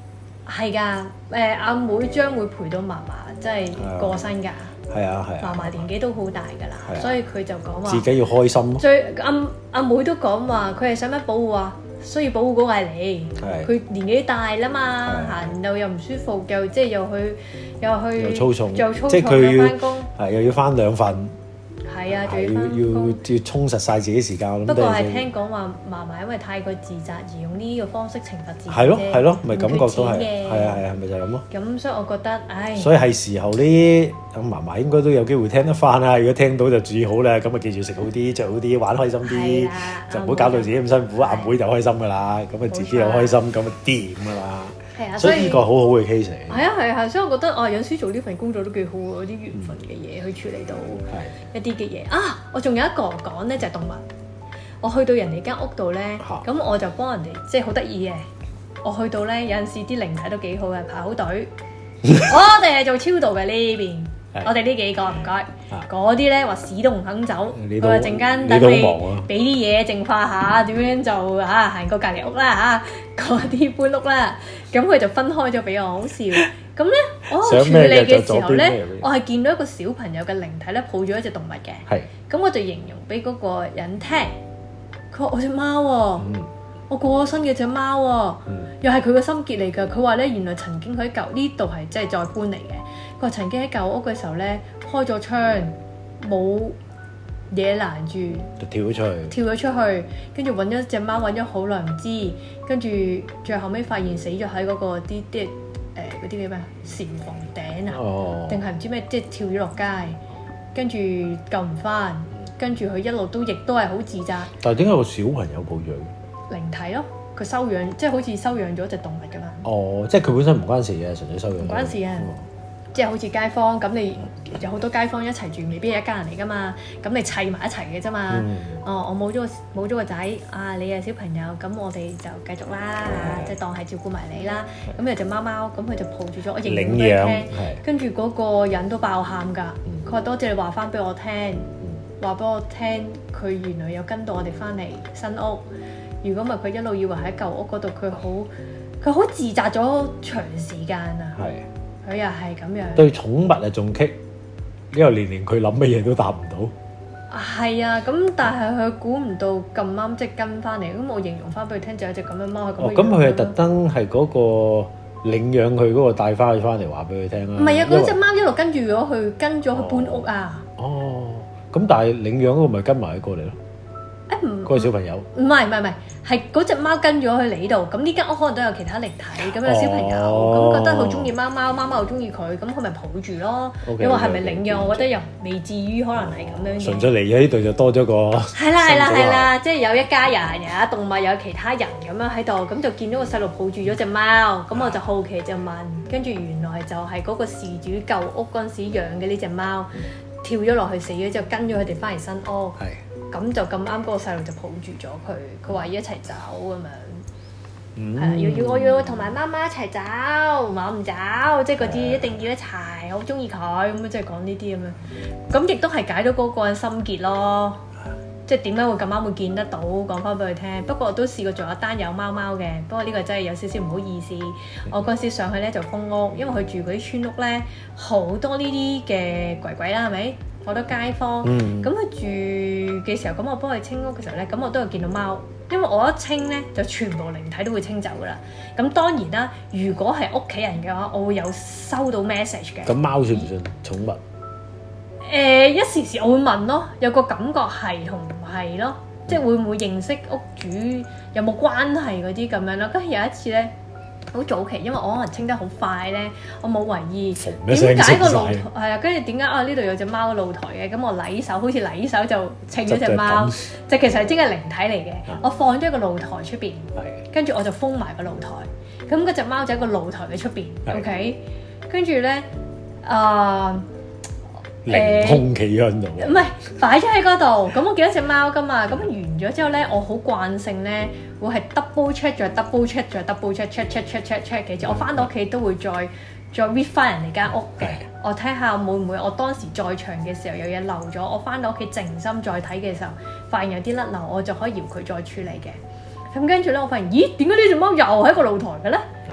係㗎，誒阿妹將會陪到嫲嫲，即係過身㗎。 係啊係啊， 嫲嫲年紀都好大㗎啦，所以佢就講話自己要開心咯。 最阿阿妹都講話，佢係使乜保護啊？需要保護嗰個係你，佢年紀大啦嘛，行路又唔舒服，又即係又去又去又操重， 又操即係佢要翻工， 係又要翻兩份。 係啊，仲要要要要充實晒自己時間。 不過係聽講話嫲嫲因為太過自責而用呢個方式懲罰自己。 係咯係咯，咪感覺都係。係啊係啊，咪就係咁咯。 咁所以我覺得，唉。所以係時候呢，咁嫲嫲應該都有機會聽得翻啦。如果聽到就注意好啦，咁啊記住食好啲，着好啲，玩開心啲，就唔好搞到自己咁辛苦。阿妹就開心噶啦，咁啊自己又開心，咁啊掂噶啦。係啊，所以呢個好好嘅 case 嚟。係啊係啊，所以我覺得啊，有時做呢份工作都幾好喎，有啲緣分嘅嘢去處理到一啲嘅嘢啊！我仲有一個講咧，就係動物。我去到人哋間屋度咧，咁我就幫人哋，即係好得意嘅。我去到咧，有陣時啲靈體都幾好嘅，排好隊。我哋係做超度嘅呢邊，我哋呢幾個唔該。嗰啲咧話屎都唔肯走，佢話陣間等你俾啲嘢淨化下，點樣就嚇行過隔離屋啦嚇，嗰啲搬屋啦。咁佢就分開咗俾我，好笑。咁咧，我處理嘅時候咧，我係見到一個小朋友嘅靈體咧，抱住一隻動物嘅。係。咁我就形容俾嗰個人聽，佢話我隻貓喎，我過咗身嘅隻貓喎，又係佢個心結嚟㗎。佢話咧，原來曾經喺舊呢度係即係再搬嚟嘅。佢話曾經喺舊屋嘅時候咧，開咗窗冇嘢攔住， 就跳咗出去， 跳咗出去，跟住揾咗隻貓揾咗好耐唔知，跟住最後尾發現死咗喺嗰個啲啲誒嗰啲叫咩簷房頂啊，定係唔知咩，即係跳咗落街，跟住救唔翻，跟住佢一路都亦都係好自責。 但係點解個小朋友抱養？ 靈體咯，佢收養，即係好似收養咗隻動物㗎嘛。 哦，即係佢本身唔關事嘅，純粹收養。 唔關事啊。即係好似街坊咁，你有好多街坊一齊住，未必係一家人嚟噶嘛。咁你砌埋一齊嘅啫嘛。嗯、哦，我冇咗個冇咗個仔，啊，你係小朋友，咁我哋就繼續啦，嗯、即係當係照顧埋你啦。咁、嗯、有隻貓貓，咁佢就抱住咗，我形容俾佢聽。跟住嗰個人都爆喊㗎，佢話、嗯、多謝你話翻俾我聽，話俾、嗯、我聽，佢原來有跟到我哋翻嚟新屋。如果唔係佢一路以為喺舊屋嗰度，佢好佢好自責咗長時間啊。係。佢又係咁樣， 對寵物啊仲棘，因為年年佢諗乜嘢都答唔到。 係啊，咁但係佢估唔到咁啱即係跟翻嚟，咁我形容翻俾佢聽就有隻咁嘅貓係咁嘅樣。哦，咁佢係特登係嗰個領養佢嗰個帶翻佢翻嚟話俾佢聽啦。唔係啊，嗰隻貓一路跟住咗佢，跟咗佢搬屋啊。哦，咁但係領養嗰個咪跟埋佢過嚟咯。誒唔，嗰個小朋友唔係唔係唔係，係嗰隻貓跟咗去你度，咁呢間屋可能都有其他靈體，咁有小朋友，咁覺得好中意貓貓，貓貓好中意佢，咁佢咪抱住咯。你話係咪領養？我覺得又未至於，可能係咁樣嘅。純粹嚟咗呢度就多咗個。係啦係啦係啦，即係有一家人，有動物，有其他人咁樣喺度，咁就見到個細路抱住咗隻貓，咁我就好奇就問，跟住原來就係嗰個事主舊屋嗰陣時養嘅呢隻貓，跳咗落去死咗之後，跟咗佢哋翻嚟新屋。係。咁就咁啱嗰個細路就抱住咗佢，佢話要一齊走咁樣，係啊、嗯，要要我要同埋媽媽一齊走，我唔走，即係嗰啲一定要一齊，好中意佢咁樣，即係講呢啲咁樣，咁亦都係解到嗰個人心結咯，即係點解會咁啱會見得到，講翻俾佢聽。不過我都試過做一單有貓貓嘅，不過呢個真係有少少唔好意思。我嗰陣時上去咧就封屋，因為佢住嗰啲村屋咧好多呢啲嘅鬼鬼啦，係咪？好多街坊，咁佢、嗯、住嘅時候，咁我幫佢清屋嘅時候咧，咁我都有見到貓，因為我一清咧就全部靈體都會清走噶啦。咁當然啦，如果係屋企人嘅話，我會有收到 message 嘅。咁貓算唔算寵物？誒、呃，一時時我會問咯，有個感覺係同唔係咯，嗯、即係會唔會認識屋主，有冇關係嗰啲咁樣咯。跟住有一次咧。好早期，因為我可能清得好快咧，我冇為意點解個露台係啊，跟住點解啊呢度有隻貓露台嘅，咁我禮手好似禮手就清咗隻貓，就其實係真係靈體嚟嘅。嗯、我放咗個露台出邊，跟住我就封埋個露台，咁嗰隻貓就喺個露台嘅出邊，OK，跟住咧啊。凌空企喺度，唔係擺咗喺嗰度。咁我見到隻貓噶嘛，咁完咗之後咧，我好慣性咧會係 double check 再 double check 再 double check check check check check check 嘅。我翻到屋企都會再再 read 翻人哋間屋嘅，我睇下會唔會我當時在場嘅時候有嘢漏咗。我翻到屋企靜心再睇嘅時候，發現有啲甩漏，我就可以搖佢再處理嘅。咁跟住咧，我發現咦點解呢隻貓又喺個露台嘅咧？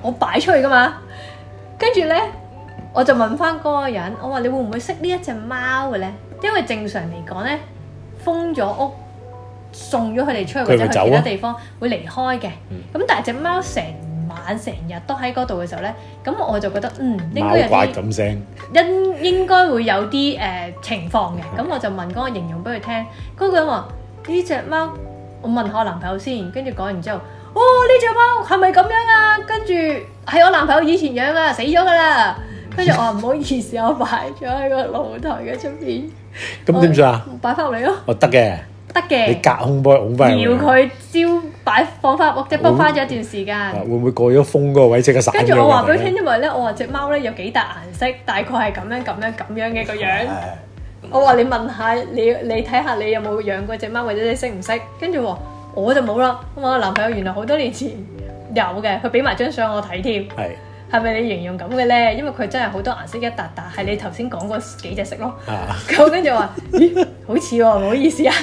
我擺出去噶嘛。跟住咧，我就問翻嗰個人，我話你會唔會識呢一隻貓嘅咧？因為正常嚟講咧，封咗屋，送咗佢哋出去或者去其他地方會離開嘅。咁、嗯、但係隻貓成晚成日都喺嗰度嘅時候咧，咁我就覺得嗯應該有啲咁聲，應應該會有啲誒、呃、情況嘅。咁我就問嗰個形容俾佢聽，嗰、嗰個人話呢隻貓，我問下我男朋友先，跟住講完之後，哦呢隻貓係咪咁樣啊？跟住係我男朋友以前養啊，死咗㗎啦。跟住我話唔好意思，我擺咗喺個露台嘅出邊。咁點算啊？擺翻入嚟咯。哦，得嘅。得嘅，你隔空幫佢拱翻，搖佢招擺放翻屋，即係幫翻咗一段時間。會唔會過咗風嗰個位即刻散咗？跟住我話俾佢聽，因為咧，我話隻貓咧有幾笪顏色，大概係咁樣咁樣咁樣嘅個樣。我話你問下你，你睇下你有冇養過隻貓，或者你識唔識？跟住話我就冇啦。咁我男朋友原來好多年前有嘅，佢俾埋張相我睇添。係係咪你形容咁嘅咧？因為佢真係好多顏色一笪笪，係你頭先講嗰幾隻色咯。咁跟住話咦，好似喎，唔好意思啊。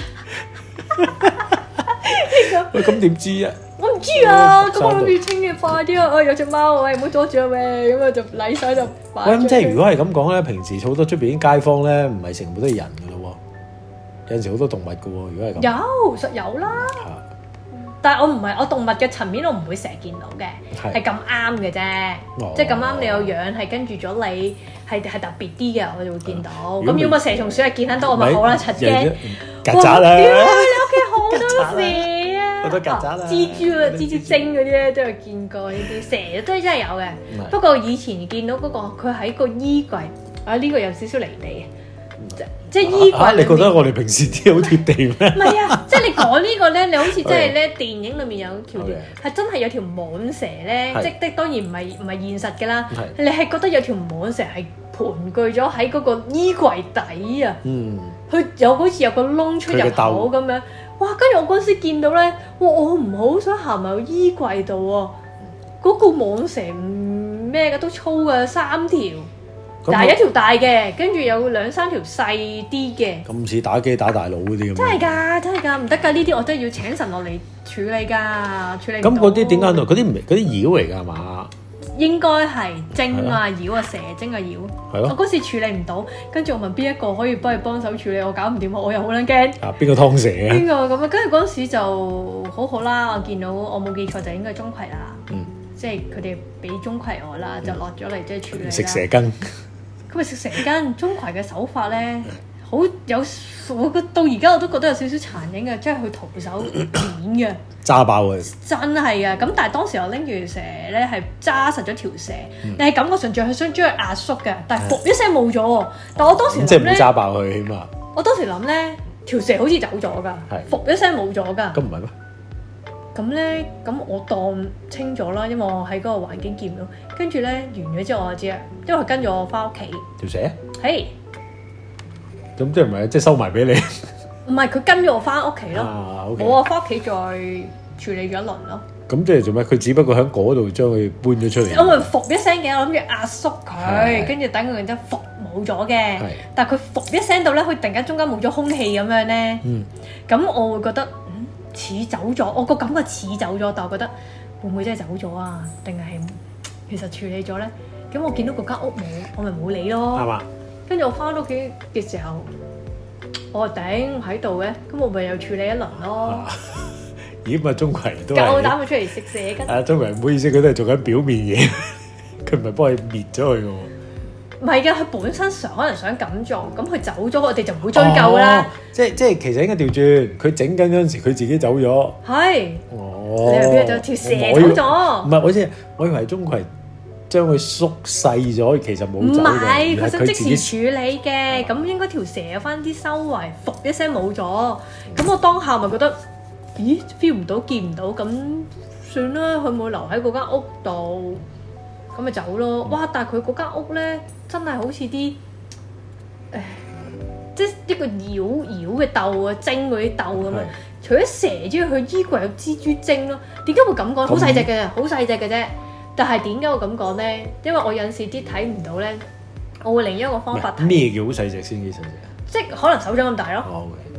喂，咁點知啊？我唔知啊，咁我諗住清嘅快啲啊！我有隻貓，喂，唔好阻住我咩？咁啊就禮手就擺。喂，咁即係如果係咁講咧，平時好多出邊啲街坊咧，唔係全部都係人噶咯喎，有陣時好多動物噶喎。如果係咁，有實有啦。但係我唔係我動物嘅層面，我唔會成日見到嘅，係咁啱嘅啫。即係咁啱你有養，係跟住咗你，係係特別啲嘅，我就會見到。咁如果蛇蟲鼠係見得多，我咪好啦，柒驚。曱甴啦！屌你屋企好多蛇啊！好多曱甴啦！蜘蛛啊，蜘蛛精嗰啲咧都有見過呢啲，蛇都真係有嘅。不過以前見到嗰個佢喺個衣櫃啊，呢個有少少離地。即係衣櫃，你覺得我哋平時啲好貼地咩？唔係啊，即係你講呢個咧，你好似真係咧電影裏面有條係真係有條蟒蛇咧，即係當然唔係唔係現實嘅啦。你係覺得有條蟒蛇係盤踞咗喺嗰個衣櫃底啊？嗯，佢有好似有個窿出入口咁樣。哇！跟住我嗰時見到咧，哇！我唔好想行埋個衣櫃度喎。嗰個蟒蛇唔咩嘅都粗嘅三條。但係一條大嘅，跟住有兩三條細啲嘅。咁似打機打大佬嗰啲咁。真係㗎，真係㗎，唔得㗎！呢啲我真係要請神落嚟處理㗎，處理唔到。咁嗰啲點解嗰啲唔係嗰啲妖嚟㗎係嘛？應該係精啊妖啊蛇精啊妖。係咯。我嗰時處理唔到，跟住我問邊一個可以幫佢幫手處理，我搞唔掂，我又好撚驚。啊！邊個劏蛇啊？邊個咁啊？跟住嗰陣時就好好啦，我見到我冇記錯就應該係鍾馗啦。嗯。即係佢哋俾鍾馗我啦，就落咗嚟即係處理啦。食蛇羹。佢咪食蛇羹，鍾馗嘅手法咧，好有我到而家我都覺得有少少殘忍嘅，即係佢徒手剪嘅，揸爆佢，真係啊！咁但係當時我拎住蛇咧係揸實咗條蛇，嗯、你係感覺上仲係想將佢壓縮嘅，但係噗一聲冇咗喎。但我當時即係唔揸爆佢，起碼我當時諗咧條蛇好似走咗㗎，噗一聲冇咗㗎。咁唔係咩？咁咧，咁我當清咗啦，因為我喺嗰個環境見唔到。跟住咧完咗之後我就知啦，因為佢跟住我翻屋企。條蛇？係。咁即係唔係即係收埋俾你？唔係，佢跟住我翻屋企咯。啊，OK。我啊翻屋企再處理咗一輪咯。咁即係做咩？佢只不過喺嗰度將佢搬咗出嚟。我咪伏一聲嘅，我諗住壓縮佢，跟住等佢然之後伏冇咗嘅。係。但係佢伏一聲到咧，佢突然間中間冇咗空氣咁樣咧。嗯。咁我會覺得。似走咗，我個感覺似走咗，但我覺得會唔會真係走咗啊？定係其實處理咗咧？咁我見到嗰間屋冇，我咪冇理咯。係嘛？跟住我翻屋企嘅時候，我話頂喺度嘅，咁我咪又處理一輪咯。咦？咪鍾馗都夠膽佢出嚟食蛇羹。啊，鍾馗唔好意思，佢都係做緊表面嘢，佢唔係幫你滅咗佢嘅喎。唔係嘅，佢本身想可能想咁做，咁佢走咗，我哋就唔會追究啦。即係即係其實應該調轉，佢整緊嗰陣時，佢自己走咗。係。哦。你又邊度條蛇走咗？唔係，我知，我以為鍾馗將佢縮細咗，其實冇走嘅。唔係，佢想即時處理嘅，咁應該條蛇有翻啲修為，伏一聲冇咗。咁我當下咪覺得，咦 feel 唔到，見唔到，咁算啦，佢冇留喺嗰間屋度。咁咪走咯！哇！但係佢嗰間屋咧，真係好似啲誒，即係一個妖妖嘅竇啊，精嗰啲竇咁樣。除咗蛇之外，佢衣櫃有蜘蛛精咯。點解會咁講？好細隻嘅，好細隻嘅啫。但係點解我咁講咧？因為我有陣時啲睇唔到咧，我會另一個方法睇。咩叫好細隻先？幾細隻？即係可能手掌咁大咯。哦，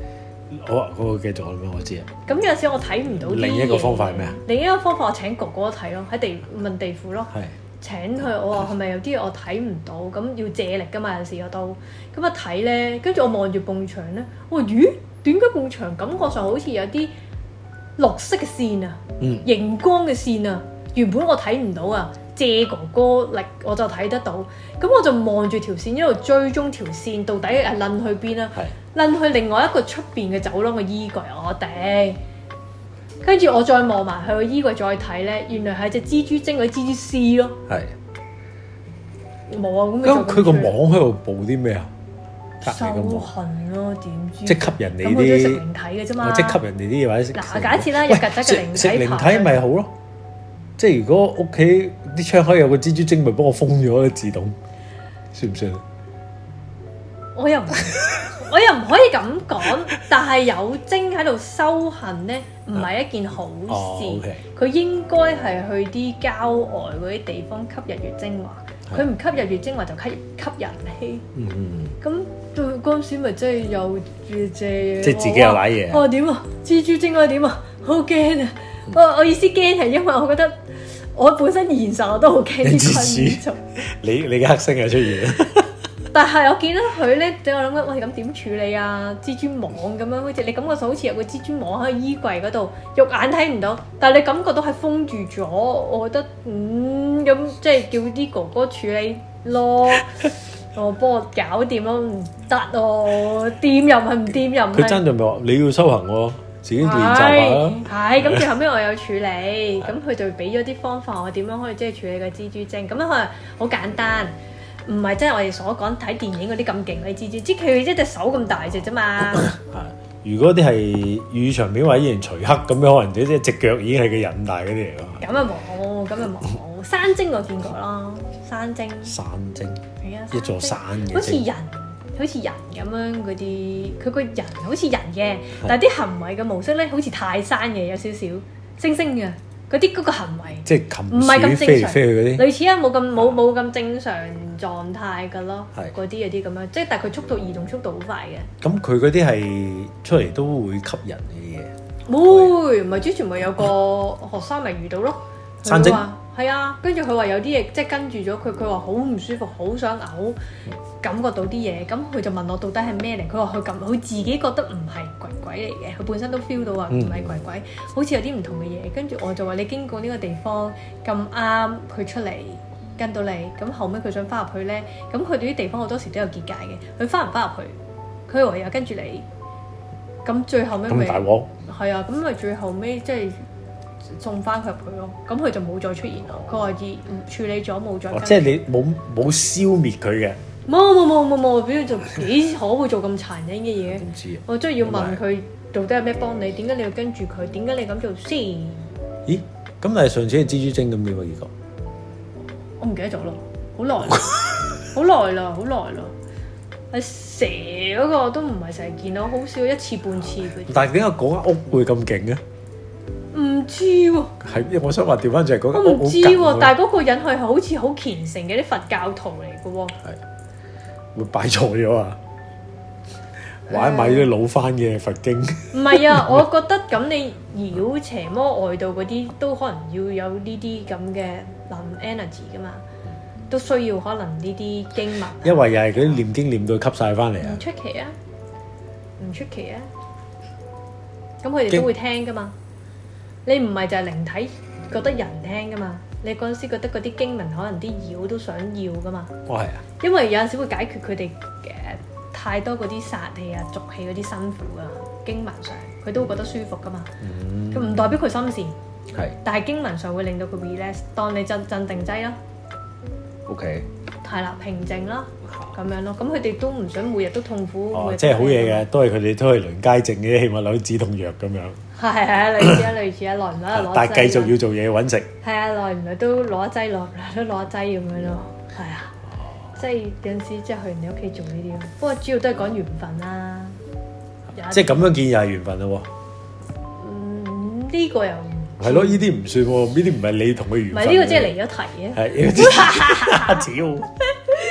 好啊，嗰個繼續咁樣，我知啊。 咁有陣時我睇唔到啲嘢。另一個方法係咩啊？ 另一個方法我請哥哥睇咯，喺地問地庫咯。 係。 請佢，我話係咪有啲嘢我睇唔到？咁要借力㗎嘛，有時我都咁一睇咧，跟住我望住埲牆咧，我話咦，點解埲牆感覺上好似有啲綠色嘅線啊，熒、嗯、光嘅線啊，原本我睇唔到啊，借哥哥力我就睇得到。咁我就望住條線一路追蹤條線，到底係撚去邊啊？撚去另外一個出邊嘅走廊嘅衣櫃，我頂。跟住我再望埋佢個衣櫃再睇咧，原來係隻蜘蛛精嗰啲蜘蛛絲咯。係。冇啊，咁咁佢個網喺度報啲咩啊？ 收痕咯，點知？ 即係吸人哋啲。 咁我都食靈體嘅啫嘛。 即係吸人哋啲嘢或者食。 嗱，假設啦，有曱甴嘅靈體。 食靈體咪好咯。即係如果屋企啲窗口有個蜘蛛精，咪幫我封咗自動，算唔算啊？ 我又唔。我又唔可以咁講，但係有精喺度收痕咧，唔係一件好事。佢、哦 okay. 應該係去啲郊外嗰啲地方吸日月精華，佢唔吸日月精華就吸吸人氣。嗯嗯。咁對嗰陣時咪真係有借借。即係自己有瀨嘢。我話點啊？蜘蛛精我點啊？好驚啊！嗯、我我意思驚係因為我覺得我本身現實我都好驚啲昆蟲。你你嘅黑星又出現。但係我見到佢咧，等我諗緊，喂咁點處理啊？蜘蛛網咁樣，好似你感覺上好似有個蜘蛛網喺衣櫃嗰度，肉眼睇唔到，但係你感覺到係封住咗。我覺得嗯咁，即係叫啲哥哥處理咯，我幫我搞掂咯，唔得哦，掂又唔係唔掂又唔係。佢真係咪話你要修行喎？自己練習下啦。係咁，最後尾我有處理，咁佢就俾咗啲方法，我點樣可以即係處理個蜘蛛精？咁樣可能好簡單。唔係真係我哋所講睇電影嗰啲咁勁嘅蜘蛛，即係佢一隻手咁大隻啫嘛。係，如果啲係雨場面或者以前徐克咁樣，可能即係隻腳已經係個人大嗰啲嚟㗎。咁啊冇，咁啊冇。山精我見過啦，山精。山精。係啊，一座山嘅。好似人，好似人咁樣嗰啲，佢個人好似人嘅，但係啲行為嘅模式咧，好似泰山嘅，有少少猩猩嘅。嗰啲嗰個行為，即係禽鼠飛嚟飛去嗰啲，類似啊，冇咁冇冇咁正常狀態㗎咯。係嗰啲有啲咁樣，即係但係佢速度移動速度好快嘅。咁佢嗰啲係出嚟都會吸人嘅嘢。會，唔係之前咪有個學生咪遇到咯。山精係啊，跟住佢話有啲嘢即係跟住咗佢，佢話好唔舒服，好想嘔，感覺到啲嘢。咁佢就問我到底係咩嚟？佢話佢咁，佢自己覺得唔係鬼鬼嚟嘅，佢本身都 feel 到話唔係鬼鬼，嗯、好似有啲唔同嘅嘢。跟住我就話你經過呢個地方咁啱佢出嚟跟到你，咁後尾佢想翻入去咧，咁佢哋啲地方好多時都有結界嘅，佢翻唔翻入去，佢唯有跟住你。咁最後尾咪大鑊係啊，咁咪最後尾即係。送翻佢入去咯，咁佢就冇再出現咯。佢話已處理咗，冇再、哦。即係你冇冇消滅佢嘅？冇冇冇冇冇，表示做幾可會做咁殘忍嘅嘢？唔知啊！我真係要問佢到底有咩幫你？點解你要跟住佢？點解你咁做先？咦？咁但係上次係蜘蛛精咁點啊？結果我唔記得咗咯，好耐，好耐啦，好耐啦。係蛇嗰個都唔係成日見到，好少一次半次。但係點解嗰間屋會咁勁嘅？唔知喎、啊，係，我想話調翻轉係嗰間屋好勁。我唔知喎、啊，但係嗰個人係好似好虔誠嘅啲佛教徒嚟嘅喎。係，會擺錯咗啊！或者買啲老翻嘅佛經。唔係啊，我覺得咁你妖邪魔外道嗰啲都可能要有呢啲咁嘅能 energy 噶嘛，都需要可能呢啲經文。因為又係嗰啲念經念到吸晒翻嚟啊！唔出奇啊，唔出奇啊，咁佢哋都會聽噶嘛。你唔係就係靈體覺得人聽噶嘛？你嗰陣時覺得嗰啲經文可能啲妖都想要噶嘛？哦，係啊！因為有陣時會解決佢哋嘅太多嗰啲殺氣啊、濁氣嗰啲辛苦啊，經文上佢都會覺得舒服噶嘛。咁唔、嗯、代表佢心善，係，但係經文上會令到佢 relax，當你鎮鎮定劑咯。OK。係啦，平靜啦，咁樣咯。咁佢哋都唔想每日都痛苦。哦，即係好嘢嘅，都係佢哋都係輪街症嘅，起碼攞止痛藥咁樣。係係啊，類似啊，類似啊，耐唔耐就攞。但係繼續要做嘢揾食。係啊，耐唔耐都攞一劑，落都攞一劑咁樣咯。係啊，即係有陣時即係去人哋屋企做呢啲咯。不過主要都係講緣分啦。即係咁樣見又係緣分咯喎。嗯，呢個又係咯，呢啲唔算喎，呢啲唔係你同佢緣分。唔係呢個即係離咗題嘅。係，屌。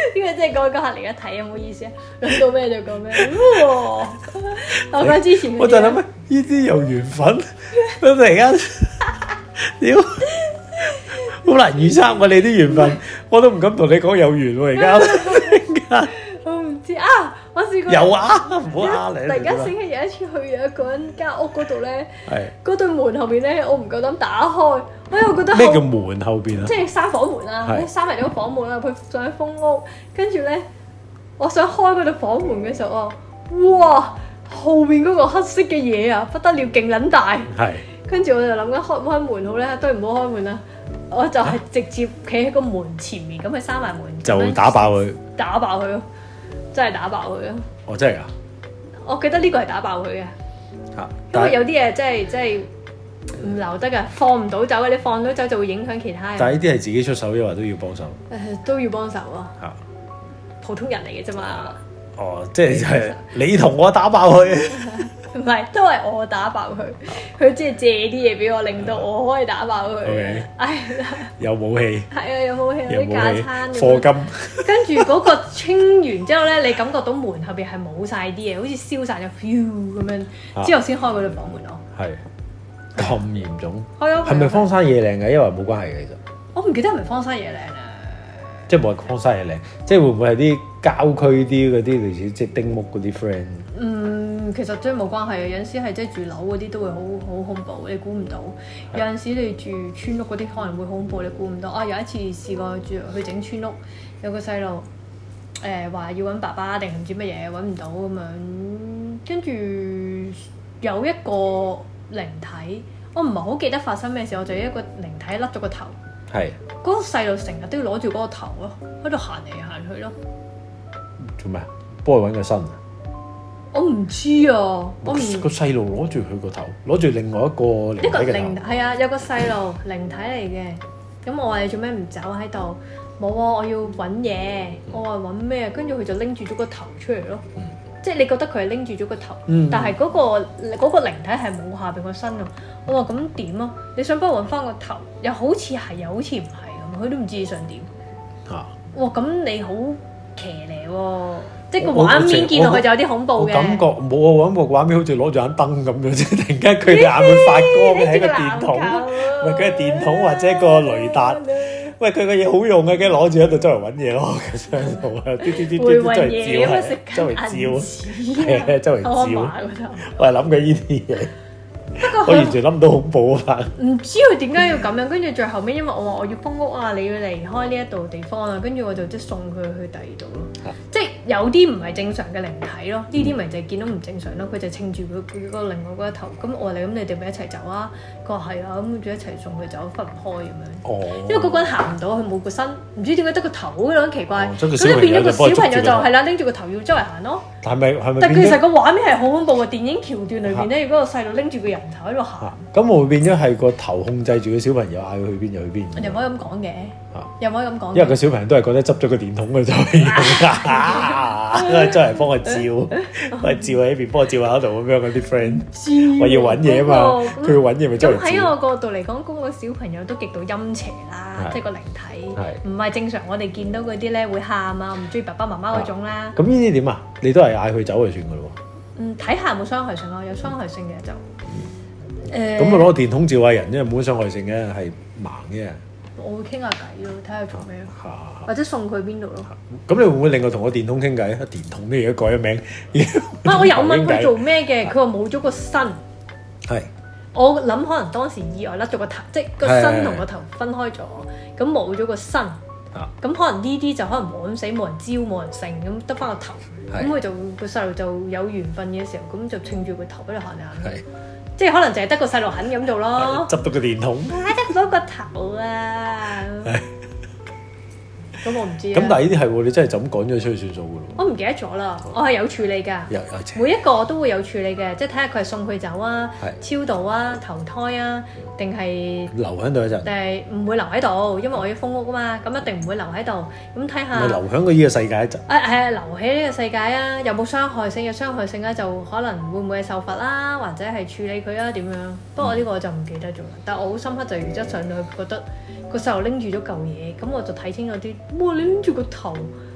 因為即係嗰嗰下嚟一睇，唔好意思啊，諗到咩就講咩。我覺得之前我就諗呢啲有緣分，我突然間屌好難預測喎你啲緣分，我都唔敢同你講有緣喎而家。 我唔知啊，我試過有啊，唔好呃你。 突然間醒起有一次去有一個人間屋嗰度咧， 係嗰對門後邊咧，我唔夠膽打開，我又覺得咩叫門後邊啊？ 即係閂房門啊，閂埋咗個房門啊，佢上去封屋，跟住咧，我想開嗰對房門嘅時候啊，哇！後邊嗰個黑色嘅嘢啊，不得了，勁撚大。係。跟住我就諗緊開唔開門好咧，都係唔好開門啦。我就係直接企喺個門前面，咁佢閂埋門， 就打爆佢， 打爆佢咯，真係打爆佢咯。 哦，真係㗎！ 我記得呢個係打爆佢嘅， 嚇， 因為有啲嘢真係真係唔留得㗎，放唔到走嘅，你放到走就會影響其他人。 但係呢啲係自己出手，抑或都要幫手？ 誒，都要幫手啊！ 嚇， 普通人嚟嘅啫嘛。 哦，即係就係你同我打爆佢。 唔係，都係我打爆佢，佢即係借啲嘢俾我，令到我可以打爆佢。 Okay. 唉， 有武器。 係啊，有武器，有啲架撐。 課金。跟住嗰個清完之後咧，你感覺到門後邊係冇晒啲嘢，好似燒晒咗咁樣，之後先開嗰對房門咯。係咁嚴重？係啊。係咪荒山野嶺嘅？因為冇關係嘅，其實。我唔記得係咪荒山野嶺啊？即係冇係荒山野嶺，即係會唔會係啲郊區啲嗰啲類似即係丁屋嗰啲 friend？嗯，其實真係冇關係嘅，有陣時係即係住樓嗰啲都會好好恐怖，你估唔到。有陣時你住村屋嗰啲可能會恐怖，你估唔到。啊，有一次試過住去整村屋，有個細路誒話要揾爸爸定係唔知乜嘢揾唔到咁樣，跟住有一個靈體，我唔係好記得發生咩事，我就有一個靈體甩咗個頭。係嗰個細路成日都要攞住嗰個頭咯，喺度行嚟行去咯。做咩啊？幫佢揾個身啊？我唔知啊，我唔個細路攞住佢個頭，攞住另外一個靈體嘅頭。一個靈係啊，有個細路靈體嚟嘅。咁我話你做咩唔走喺度？冇啊，我要揾嘢。我話揾咩？跟住佢就拎住咗個頭出嚟咯。嗯、即係你覺得佢係拎住咗個頭，嗯、但係嗰、嗰個嗰、嗰個靈體係冇下邊個身啊。我話咁點啊？你想幫我揾翻個頭，又好似係，又好似唔係咁，佢都唔知你想點。嚇、啊！哇！咁你好騎呢喎，即係個畫面見落去就有啲恐怖嘅。感覺冇啊！揾個畫面好似攞住盞燈咁樣啫，突然間佢嘅眼會發光嘅，喺個電筒，唔係佢係電筒或者個雷達。喂，佢個嘢好用嘅，梗係攞住喺度周圍揾嘢咯，喺度啊，啲啲啲啲周圍照係，周圍照，係啊，周圍照。我係諗緊呢啲嘢。不過我完全諗唔到恐怖啊！唔知佢點解要咁樣，跟住最後尾，因為我話我要封屋啊，你要離開呢一度地方啊，跟住我就即係送佢去第二度咯。啊、即係有啲唔係正常嘅靈體咯，呢啲咪就係見到唔正常咯。佢就稱住佢佢個另外嗰一頭。咁我話你咁，你哋咪一齊走啊？佢話係啊，咁就一齊送佢走，分唔開咁樣。哦。因為嗰個人行唔到，佢冇個身，唔知點解得個頭咁樣奇怪。咁就、哦、變咗個小朋友就係啦，拎住個頭要周圍行咯。係咪係咪？但其實個畫面係好恐怖嘅，電影橋段裏邊咧，如果個細路拎住個人頭喺度行，咁會變咗係個頭控制住個小朋友，嗌佢去邊就去邊。又唔可以咁講嘅，又唔可以咁講。因為個小朋友都係覺得執咗個電筒嘅就係用㗎，因為周圍幫我照，我照喺邊幫我照下嗰度咁樣嗰啲 friend，我要揾嘢啊嘛，佢要揾嘢咪周圍照。咁喺我角度嚟講，嗰個小朋友都極度陰邪啦，即係個靈體，唔係正常我哋見到嗰啲咧會喊啊，唔中意爸爸媽媽嗰種啦。咁呢啲點啊？你都係嗌佢走就算㗎咯喎。嗯，睇下有冇傷害性咯，有傷害性嘅就。誒咁啊！攞個電筒照下人，因為冇乜傷害性嘅，係盲嘅。我會傾下偈咯，睇下做咩咯，啊、或者送佢邊度咯。咁、啊、你會唔會另外同個電筒傾偈？電筒呢而家改咗名。啊！我有問佢做咩嘅，佢話冇咗個身。係是。我諗可能當時意外甩咗個頭，即係個身同個頭分開咗，咁冇咗個身。啊！咁可能呢啲就可能冇咁死，冇人招，冇人剩，咁得翻個頭。咁佢是就個細路就有緣分嘅時候，咁就稱住個頭喺度行嚟行去。即係可能就係得個細路肯咁做咯，執到個電筒，啊得嗰個頭啊！咁我唔知啊。咁但係呢啲係喎，你真係就咁趕咗出去算數噶咯？我唔記得咗啦，我係有處理㗎，每一個我都會有處理嘅，即係睇下佢係送佢走啊、超度啊、投胎啊，定係留喺度一陣，定係唔會留喺度，因為我要封屋啊嘛，咁一定唔會留喺度。咁睇下，咪留喺個呢個世界一陣。啊係啊，留喺呢個世界啊，有冇傷害性？有傷害性咧，就可能會唔會係受罰啦，或者係處理佢啊點樣？不過呢個我就唔記得咗啦。但係我好深刻就原則上就覺得個細路拎住咗嚿嘢，咁我就睇清楚啲。哇！你拎住個頭，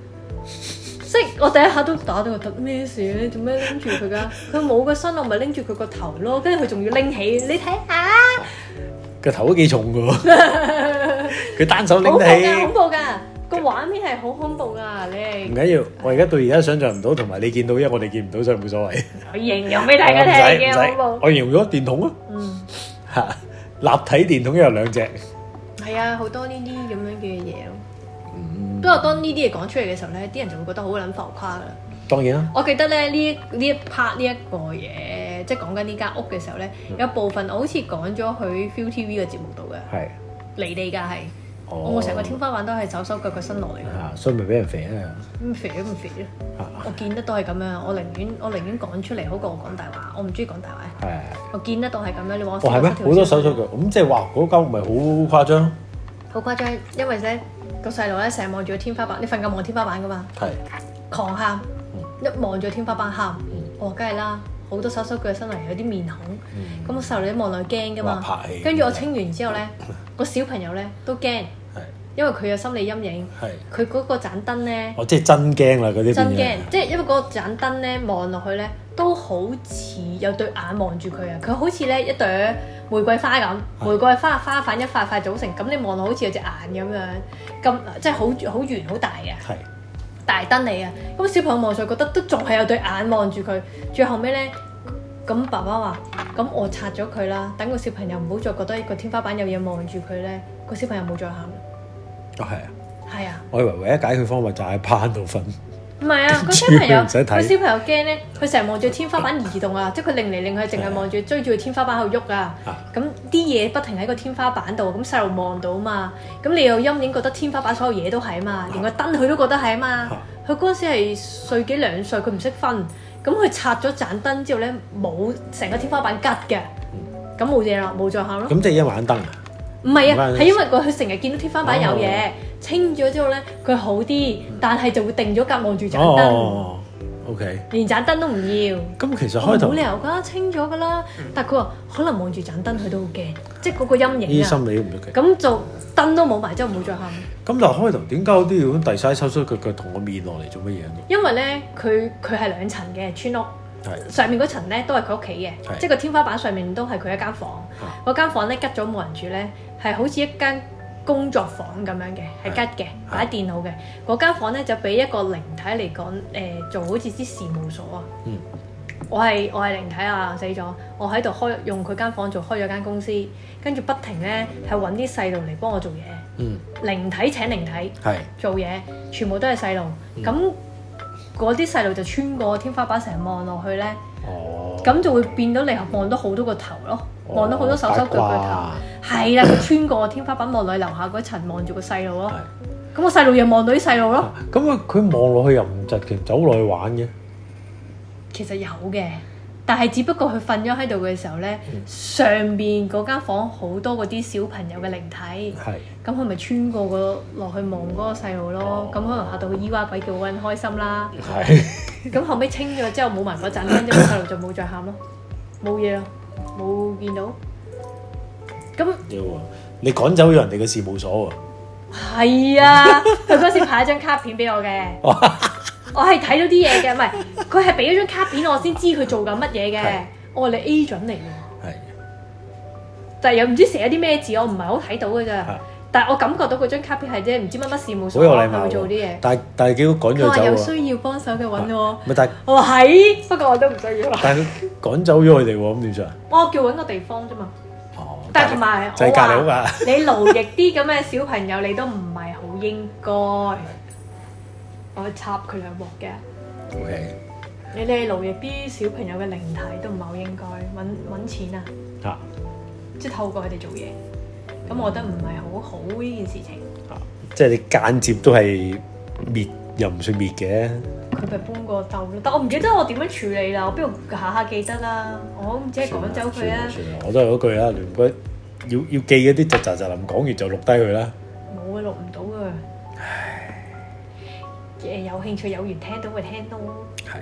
即係我第一下都打到個突咩事咧？做咩拎住佢噶？佢冇個身，我咪拎住佢個頭咯。跟住佢仲要拎起，你睇下個頭都幾重噶喎。佢單手拎起， 恐怖㗎，個畫面係好恐怖㗎。你唔緊要，我而家到而家想像唔到，同埋你見到，因為我哋見唔到，所以冇所謂。 我形容俾大家聽幾恐怖。 我形容咗電筒啊，嗯嚇，立體電筒有兩隻。係啊，好多呢啲咁樣嘅嘢咯。不過當呢啲嘢講出嚟嘅時候咧，啲人就會覺得好撚浮誇㗎啦。 當然啦。 我記得咧呢呢一 part 呢一個嘢，即係講緊呢間屋嘅時候咧，嗯、有部分我好似講咗去 ViuTV 嘅節目度嘅。係是。離地㗎係。哦。我成個天花板都係手手腳腳伸落嚟㗎。啊， 所以咪俾人肥啊！ 咁肥都唔肥咯。啊、我見得到係咁樣，我寧願我寧願講出嚟好過我講大話。我唔中意講大話。係係。我見得到係咁樣，你話我。哦係咩？好多手手腳，咁即係話嗰間屋咪好誇張？好誇張，因為咧。個細路咧成日望住個天花板，你瞓覺望天花板噶嘛？係是狂喊，嗯、一望住天花板喊，嗯、我梗係啦，好多手手腳伸嚟，有啲面孔，咁、嗯、個細路一望落去驚噶嘛。跟住我清完之後咧，個小朋友咧都驚，是因為佢有心理陰影。佢嗰是個盞燈咧，哦，即係真驚啦嗰啲。真驚，即係因為嗰個盞燈咧望落去咧，都好似有對眼望住佢啊！佢好似咧一朵玫瑰花咁，玫瑰花花瓣一塊塊組成，咁你望落好似有隻眼咁樣，咁即係好好圓好大嘅，係大燈嚟啊！咁小朋友望上覺得都仲係有對眼望住佢，最後尾咧，咁爸爸話：咁我拆咗佢啦，等個小朋友唔好再覺得個天花板有嘢望住佢咧，個小朋友冇再喊。哦，係啊，係啊，我以為唯一解決方法就喺趴度瞓。唔係啊，個小朋友個小朋友驚咧，佢成日望住天花板移動啊，即係佢擰嚟擰去，淨係望住追住個天花板喺度喐啊。咁啲嘢不停喺個天花板度，咁細路望到嘛。咁你有陰影，覺得天花板所有嘢都係啊嘛，連個燈佢都覺得係啊嘛。佢嗰陣時係歲幾兩歲，佢唔識分。咁佢拆咗盞燈之後咧，冇成個天花板吉嘅，咁冇嘢啦，冇再喊咯。咁即係因為盞燈啊？唔係啊，係因為佢佢成日見到天花板有嘢。清咗之後咧，佢好啲，但係就會定咗格望住盞燈。哦，OK。連盞燈都唔要。咁其實開頭冇理由㗎，清咗㗎啦。但係佢話可能望住盞燈，佢都好驚，即係嗰個陰影啊。呢啲心理都唔得嘅。咁就燈都冇埋，之後冇再喊。咁但係開頭點解我都要咁遞晒收收腳腳同個面落嚟做乜嘢？因為咧，佢佢係兩層嘅村屋，上面嗰層咧都係佢屋企嘅，即係個天花板上面都係佢一間房。嗰間房咧吉咗冇人住咧，係好似一間工作房咁樣嘅，係吉嘅，擺電腦嘅。嗰間房咧就俾一個靈體嚟講，誒、呃、做好似啲事務所啊。嗯。我係我係靈體啊，死咗。我喺度開用佢間房做開咗間公司，跟住不停咧係揾啲細路嚟幫我做嘢。嗯。靈體請靈體。係。做嘢，全部都係細路。咁嗰啲細路就穿過天花板成日望落去咧。哦。咁就會變到你望到好多個頭咯。望到好多手手腳腳頭，係啦，佢穿過天花板望落去樓下嗰層，望住個細路咯。咁個細路又望到啲細路咯。咁啊，佢望落去又唔窒嘅，走落去玩嘅。其實有嘅，但係只不過佢瞓咗喺度嘅時候咧，嗯、上邊嗰間房好多嗰啲小朋友嘅靈體。係的。咁佢咪穿過個落去望嗰個細路咯？咁、哦、可能嚇到佢咿哇鬼叫，好撚開心啦。係的。咁後尾清咗之後冇埋嗰陣，跟住個細路就冇再喊咯，冇嘢啦。冇見到，咁你趕走咗人哋嘅事務所喎？係啊，佢嗰時派一張卡片俾我嘅，我係睇到啲嘢嘅，唔係佢係俾咗張卡片我先知佢做緊乜嘢嘅。我話你 agent 嚟嘅，係，但係又唔知寫啲咩字，我唔係好睇到嘅咋。但係我感覺到嗰張卡片係啫，唔知乜乜事務所係會做啲嘢。但係但係叫佢趕咗走喎。佢話有需要幫手嘅揾我。唔係但係我話係，不過我都唔需要。但係佢趕走咗佢哋喎，咁點算啊？我叫揾個地方啫嘛。哦。但係同埋我話你勞役啲咁嘅小朋友，你都唔係好應該。我插佢兩鑊嘅。O K。你哋勞役啲小朋友嘅靈體都唔係好應該，揾揾錢啊。嚇！即係透過佢哋做嘢。咁我覺得唔係好好呢件事情。啊，即係你間接都係滅，又唔算滅嘅。佢咪搬過竇咯，但我唔記得我點樣處理啦。我邊度下下記得啦？我唔知係趕走佢啊。算啦，我都係嗰句啦，你唔該要要記嗰啲，就就就臨講完就錄低佢啦。冇啊，錄唔到啊。唉。誒，有興趣有緣聽到咪聽咯。係。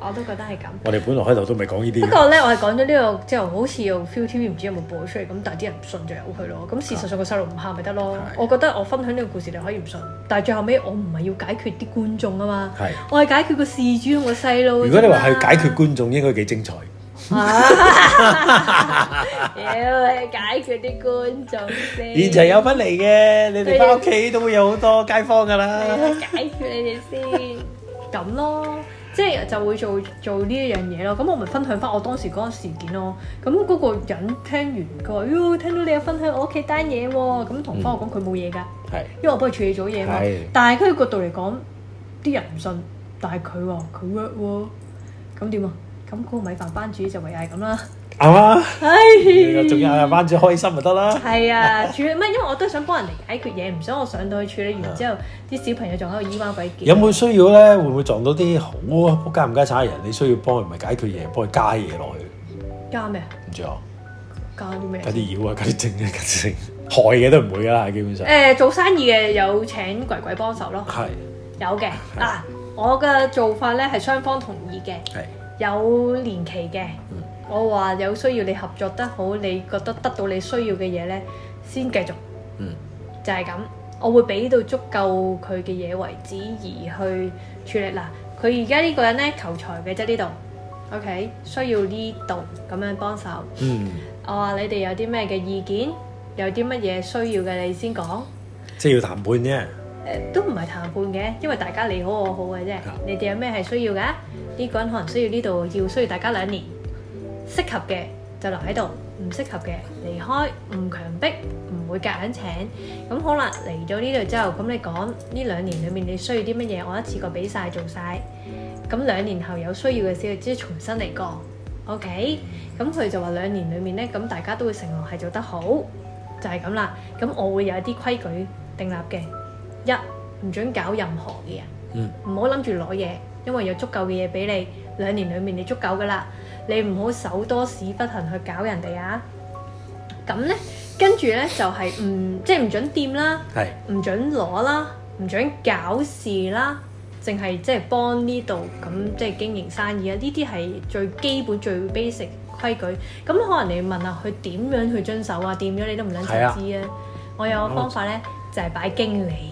我都覺得係咁。 我哋本來開頭都未講呢啲。 不過咧，我係講咗呢個之後，好似又 ViuTV 唔知有冇播出嚟，咁但係啲人唔信就由佢咯。咁事實上個細路唔喊咪得咯。我覺得我分享呢個故事你可以唔信，但係最後尾我唔係要解決啲觀眾啊嘛，我係解決個事主同個細路。 如果你話係解決觀眾，應該幾精彩。 妖，解決啲觀眾先。現場有份嚟嘅，你哋翻屋企都會有好多街坊㗎啦。解決你哋先，咁咯，即係就會做做呢一樣嘢咯。咁我咪分享翻我當時嗰個事件咯。咁嗰個人聽完佢話：喲，聽到你有分享我屋企單嘢喎。咁同翻我講佢冇嘢㗎，係因為我幫佢處理咗嘢嘛。但係佢角度嚟講，啲人唔信，但係佢話佢 work 喎，咁點啊？咁嗰個米飯班主就唯有係咁啦， 係嘛？ 唉， 仲有班主開心咪得啦。係啊，處理乜？因為我都想幫人哋解決嘢，唔想我上到去處理完之後，啲小朋友仲喺度咿哇鬼叫。 有冇需要咧？會唔會撞到啲好仆街唔街產嘅人？你需要幫佢唔係解決嘢，幫佢加嘢落去。 加咩啊？ 唔知啊。 加啲咩？ 加啲妖啊！加啲精啊！加啲精，害嘅都唔會㗎啦，基本上。 誒，做生意嘅有請鬼鬼幫手咯。係。有嘅嗱，我嘅做法咧係雙方同意嘅。係。有年期嘅，嗯、我話有需要你合作得好，你覺得得到你需要嘅嘢咧，先繼續，嗯、就係咁。我會俾到足夠佢嘅嘢為止而去處理。嗱，佢而家呢個人咧求財嘅啫，呢度 ，OK， 需要呢度咁樣幫手。嗯、我話你哋有啲咩嘅意見，有啲乜嘢需要嘅，你先講。 即係要談判啫。 誒都唔係談判嘅，因為大家你好我好嘅啫。你哋有咩係需要㗎？呢個人可能需要呢度，要需要大家兩年，適合嘅就留喺度，唔適合嘅離開，唔強迫，唔會夾硬請。咁好啦，嚟咗呢度之後，咁你講呢兩年裡面你需要啲乜嘢，我一次過俾晒做晒。咁兩年後有需要嘅時候，即係重新嚟過。OK，咁佢就話兩年裡面咧，咁大家都會承諾係做得好，就係咁啦。咁我會有一啲規矩訂立嘅。一唔准搞任何嘅人，唔好諗住攞嘢，因為有足夠嘅嘢俾你，兩年裡面你足夠噶啦，你唔好手多屎忽痕去搞人哋啊！咁咧，跟住咧就係、是、唔即係唔准掂啦，唔准攞啦，唔准搞事啦，淨係即係幫呢度咁即係經營生意啊！呢啲係最基本最 basic 規矩。咁可能你問下佢點樣去遵守啊？掂咗你都唔撚想知啊！我有個方法咧，就係、是、擺經理。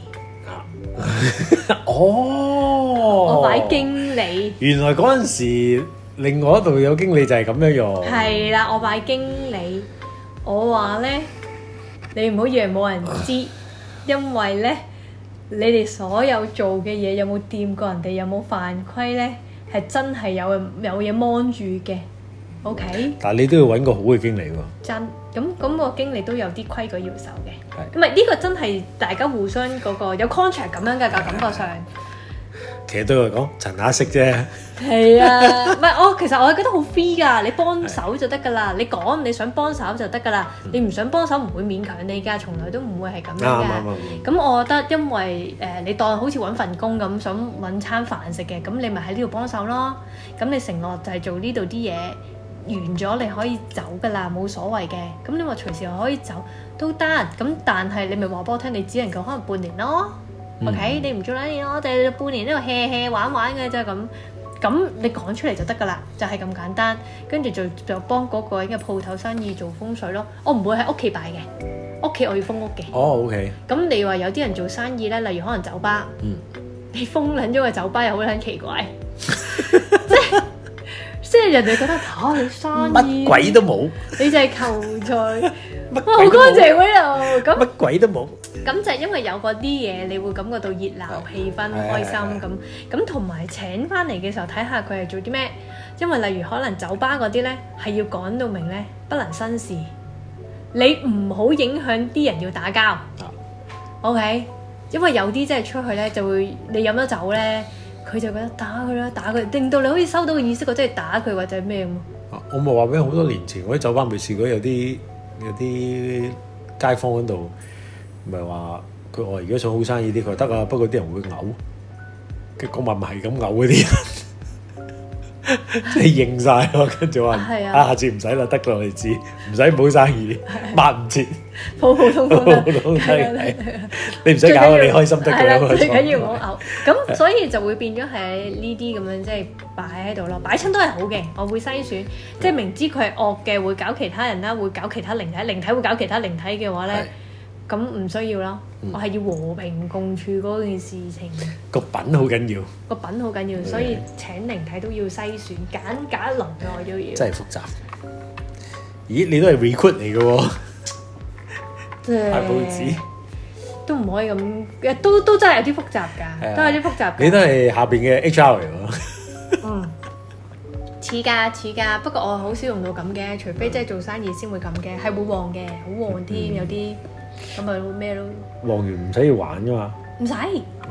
哦， 我擺經理。原來嗰陣時，另外一度有經理就係咁樣用。 係啦，我擺經理。我話咧，你唔好以為冇人知，因為咧，你哋所有做嘅嘢有冇掂過人哋，有冇犯規咧，係真係有有嘢 mon 住嘅。OK。但係你都要揾個好嘅經理喎。真。咁咁個經理都有啲規矩要守嘅，咁咪呢個真係大家互相嗰個有 contract 咁樣嘅感覺上。 其實對我嚟講，陳下識啫。 係啊，唔係我其實我係覺得好 free 㗎，你幫手就得㗎啦，你講你想幫手就得㗎啦，你唔想幫手唔會勉強你㗎，從來都唔會係咁樣㗎。咁我覺得因為誒你當好似揾份工咁，想揾餐飯食嘅，咁你咪喺呢度幫手咯。咁你承諾就係做呢度啲嘢。完咗你可以走㗎啦，冇所謂嘅。咁你話隨時可以走都得。咁但係你咪話俾我聽，你只能夠可能半年咯。嗯、OK，你唔做兩年，我哋半年呢度 hea hea 玩玩嘅啫咁。咁你講出嚟就得㗎啦，就係、是、咁簡單。跟住就就幫嗰個人嘅鋪頭生意做風水咯。我唔會喺屋企擺嘅，屋企我要封屋嘅。哦 OK。咁你話有啲人做生意咧，例如可能酒吧，嗯、你封撚咗個酒吧又好撚奇怪，即係。即係人哋覺得嚇你生意乜鬼都冇， 你就係求財，哇好乾淨喎度，咁乜鬼都冇。 咁就係因為有嗰啲嘢，你會感覺到熱鬧、氣氛、開心咁。咁同埋請翻嚟嘅時候睇下佢係做啲咩，因為例如可能酒吧嗰啲咧係要講到明咧，不能生事，你唔好影響啲人要打交。OK，因為有啲真係出去咧就會你飲咗酒咧。佢就覺得打佢啦，打佢，令到你好似收到個意識，我真係打佢或者咩咁。啊！ 我咪話俾你好多年前，我喺酒吧未試過有啲有啲街坊嗰度，唔係話佢話而家想好生意啲，佢話得啊，不過啲人會嘔。嘅講話唔係咁嘔嗰啲人， 即係認晒咯，跟住話啊，下次唔使啦，得啦，我哋知，唔使唔好生意，抹唔切， 普普通通啦， 你唔使搞啊，你開心得㗎啦， 最緊要唔好嘔。咁所以就會變咗係呢啲咁樣，即係擺喺度咯，擺親都係好嘅，我會篩選，即係明知佢係惡嘅，會搞其他人啦，會搞其他靈體，靈體會搞其他靈體嘅話咧。咁唔需要啦，嗯、我係要和平共處嗰件事情。個品好緊要，個品好緊要，所以請靈體都要篩選，揀揀一輪我都要。真係複雜。咦？你都係 recruit 嚟嘅喎，派報紙都唔可以咁，都都真係有啲複雜㗎，都有啲複雜。你都係下邊嘅 H R 嚟喎。嗯，似㗎似㗎，不過我好少用到咁嘅，除非即係做生意先會咁嘅，係會旺嘅，好旺添，有啲。咁咪咩咯？旺完唔使要玩噶嘛？唔使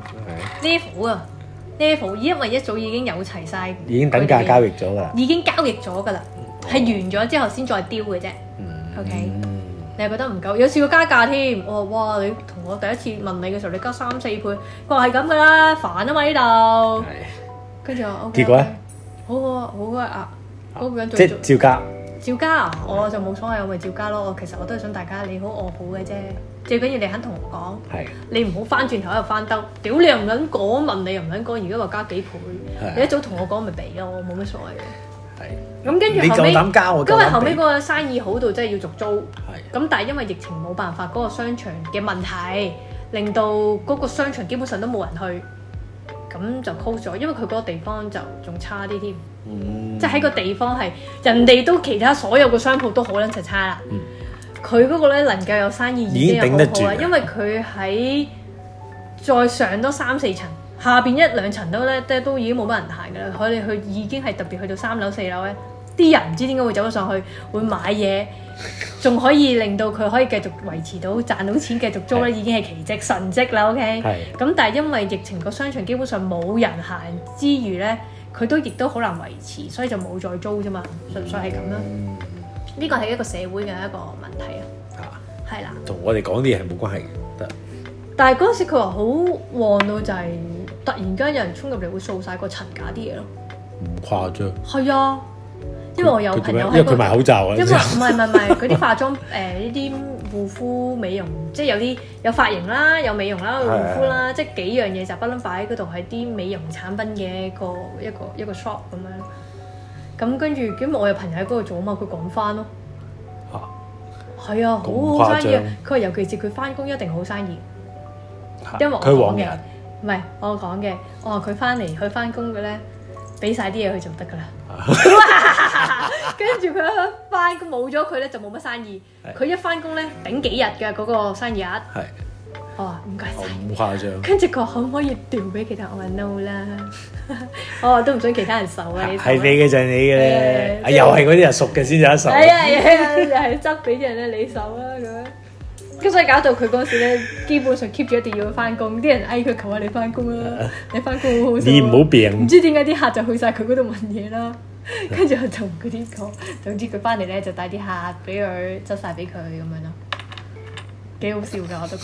level 啊 level，因為一早已經有齊晒，已經等價交易咗噶啦，已經交易咗噶啦，係完咗之後先再丟嘅啫。OK，你係覺得唔夠？有試過加價添。我話哇，你同我第一次問你嘅時候，你加三四倍，佢話係咁噶啦，煩啊嘛呢度。跟住我結果咧，好好啊好啊啊，嗰個人即係照加。照加啊！我就冇所謂，我咪照加咯。我其實我都係想大家你好我好嘅啫。最緊要你肯同我講，係你唔好翻轉頭喺度翻兜。屌你又唔撚講，問你又唔撚講，而家話加幾倍，你一早同我講咪俾咯，冇乜所謂嘅。係咁跟住後尾，你夠膽加我，因為後尾嗰個生意好到真係要續租。係咁，但係因為疫情冇辦法，嗰個商場嘅問題令到嗰個商場基本上都冇人去。咁就 close 咗，因為佢嗰個地方就仲差啲添，嗯、即係喺個地方係人哋都其他所有個商鋪都好撚柒差啦。佢嗰、嗯、個咧能夠有生意已經有好好啦，因為佢喺再上多三四層，下邊一兩層都咧都已經冇乜人行㗎啦。佢哋去已經係特別去到三樓四樓咧，啲人唔知點解會走咗上去，會買嘢，仲可以令到佢可以繼續維持到賺到錢繼續租咧，已經係奇蹟神蹟啦。OK，咁但係因為疫情個商場基本上冇人行之餘咧，佢都亦都好難維持，所以就冇再租啫嘛，純粹係咁啦。呢個係一個社會嘅一個問題啊，係啦，同我哋講啲嘢係冇關係嘅，得。但係嗰陣時佢話好旺到就係突然間有人衝入嚟會掃晒個層架啲嘢咯，唔誇張。係啊。因為我有朋友喺、嗰個，因為佢賣口罩啊。因為唔係唔係唔係，嗰啲化妝誒呢啲護膚美容，即係有啲有髮型啦，有美容啦，有護膚啦，即係幾樣嘢就不嬲擺喺嗰度，係啲美容產品嘅一個一個一個 shop 咁樣。咁跟住，咁我有朋友喺嗰度做啊嘛，佢講翻咯。嚇！係啊，好好生意啊！佢話尤其是佢翻工一定好生意，因為我講嘅唔係我講嘅，我話佢翻嚟佢翻工嘅咧，俾晒啲嘢佢就得㗎啦。跟住佢一翻工冇咗佢咧就冇乜生意，佢一翻工咧頂幾日嘅嗰個生意額。係，我話唔該曬，好誇張。跟住佢話可唔可以調俾其他？我話 no 啦，我話都唔想其他人受啊。係你嘅就係你嘅咧，又係嗰啲人熟嘅先有得受。係啊係啊，又係執俾啲人咧你受啦咁樣。咁所以搞到佢嗰時咧，基本上 keep 住一定要翻工。啲人嗌佢求下你翻工啦，你翻工好好笑。你唔好病。唔知點解啲客就去晒佢嗰度問嘢啦。跟住我就同嗰啲講，總之佢翻嚟咧就帶啲客俾佢執晒俾佢咁樣咯，幾好笑㗎我都覺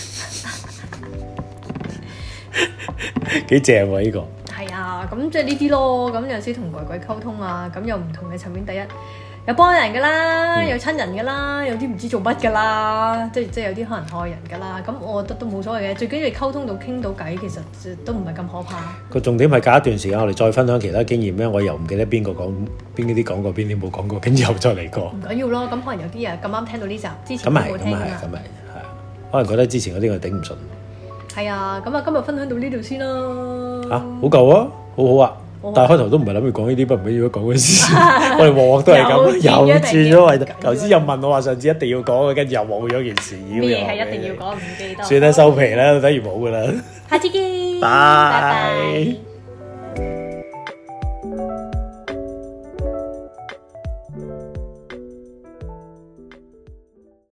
得。幾正喎呢個。係啊，咁即係呢啲咯。咁有陣時同鬼鬼溝通啊，咁有唔同嘅層面。第一。有幫人㗎啦，有親人㗎啦，有啲唔知做乜㗎啦，即係即係有啲可能害人㗎啦。咁我覺得都冇所謂嘅，最緊要你溝通到傾到偈，其實都唔係咁可怕。個重點係隔一段時間，我哋再分享其他經驗咧。我又唔記得邊個講邊啲講過，邊啲冇講過，跟住又再嚟過。唔緊要咯，咁可能有啲人咁啱聽到呢集，之前都冇聽㗎嘛。咁係，咁係，咁係，係。可能覺得之前嗰啲我頂唔順。係啊，咁啊，今日分享到呢度先啦。啊，好夠啊，好好啊。但係開頭都唔係諗住講呢啲，不唔緊要講嗰事。我哋鑊鑊都係咁，又轉咗位。頭先又問我話上次一定要講嘅，跟住又冇咗件事。咩嘢係一定要講？唔記得。算啦，收皮啦，等於冇㗎啦。下次見。拜拜。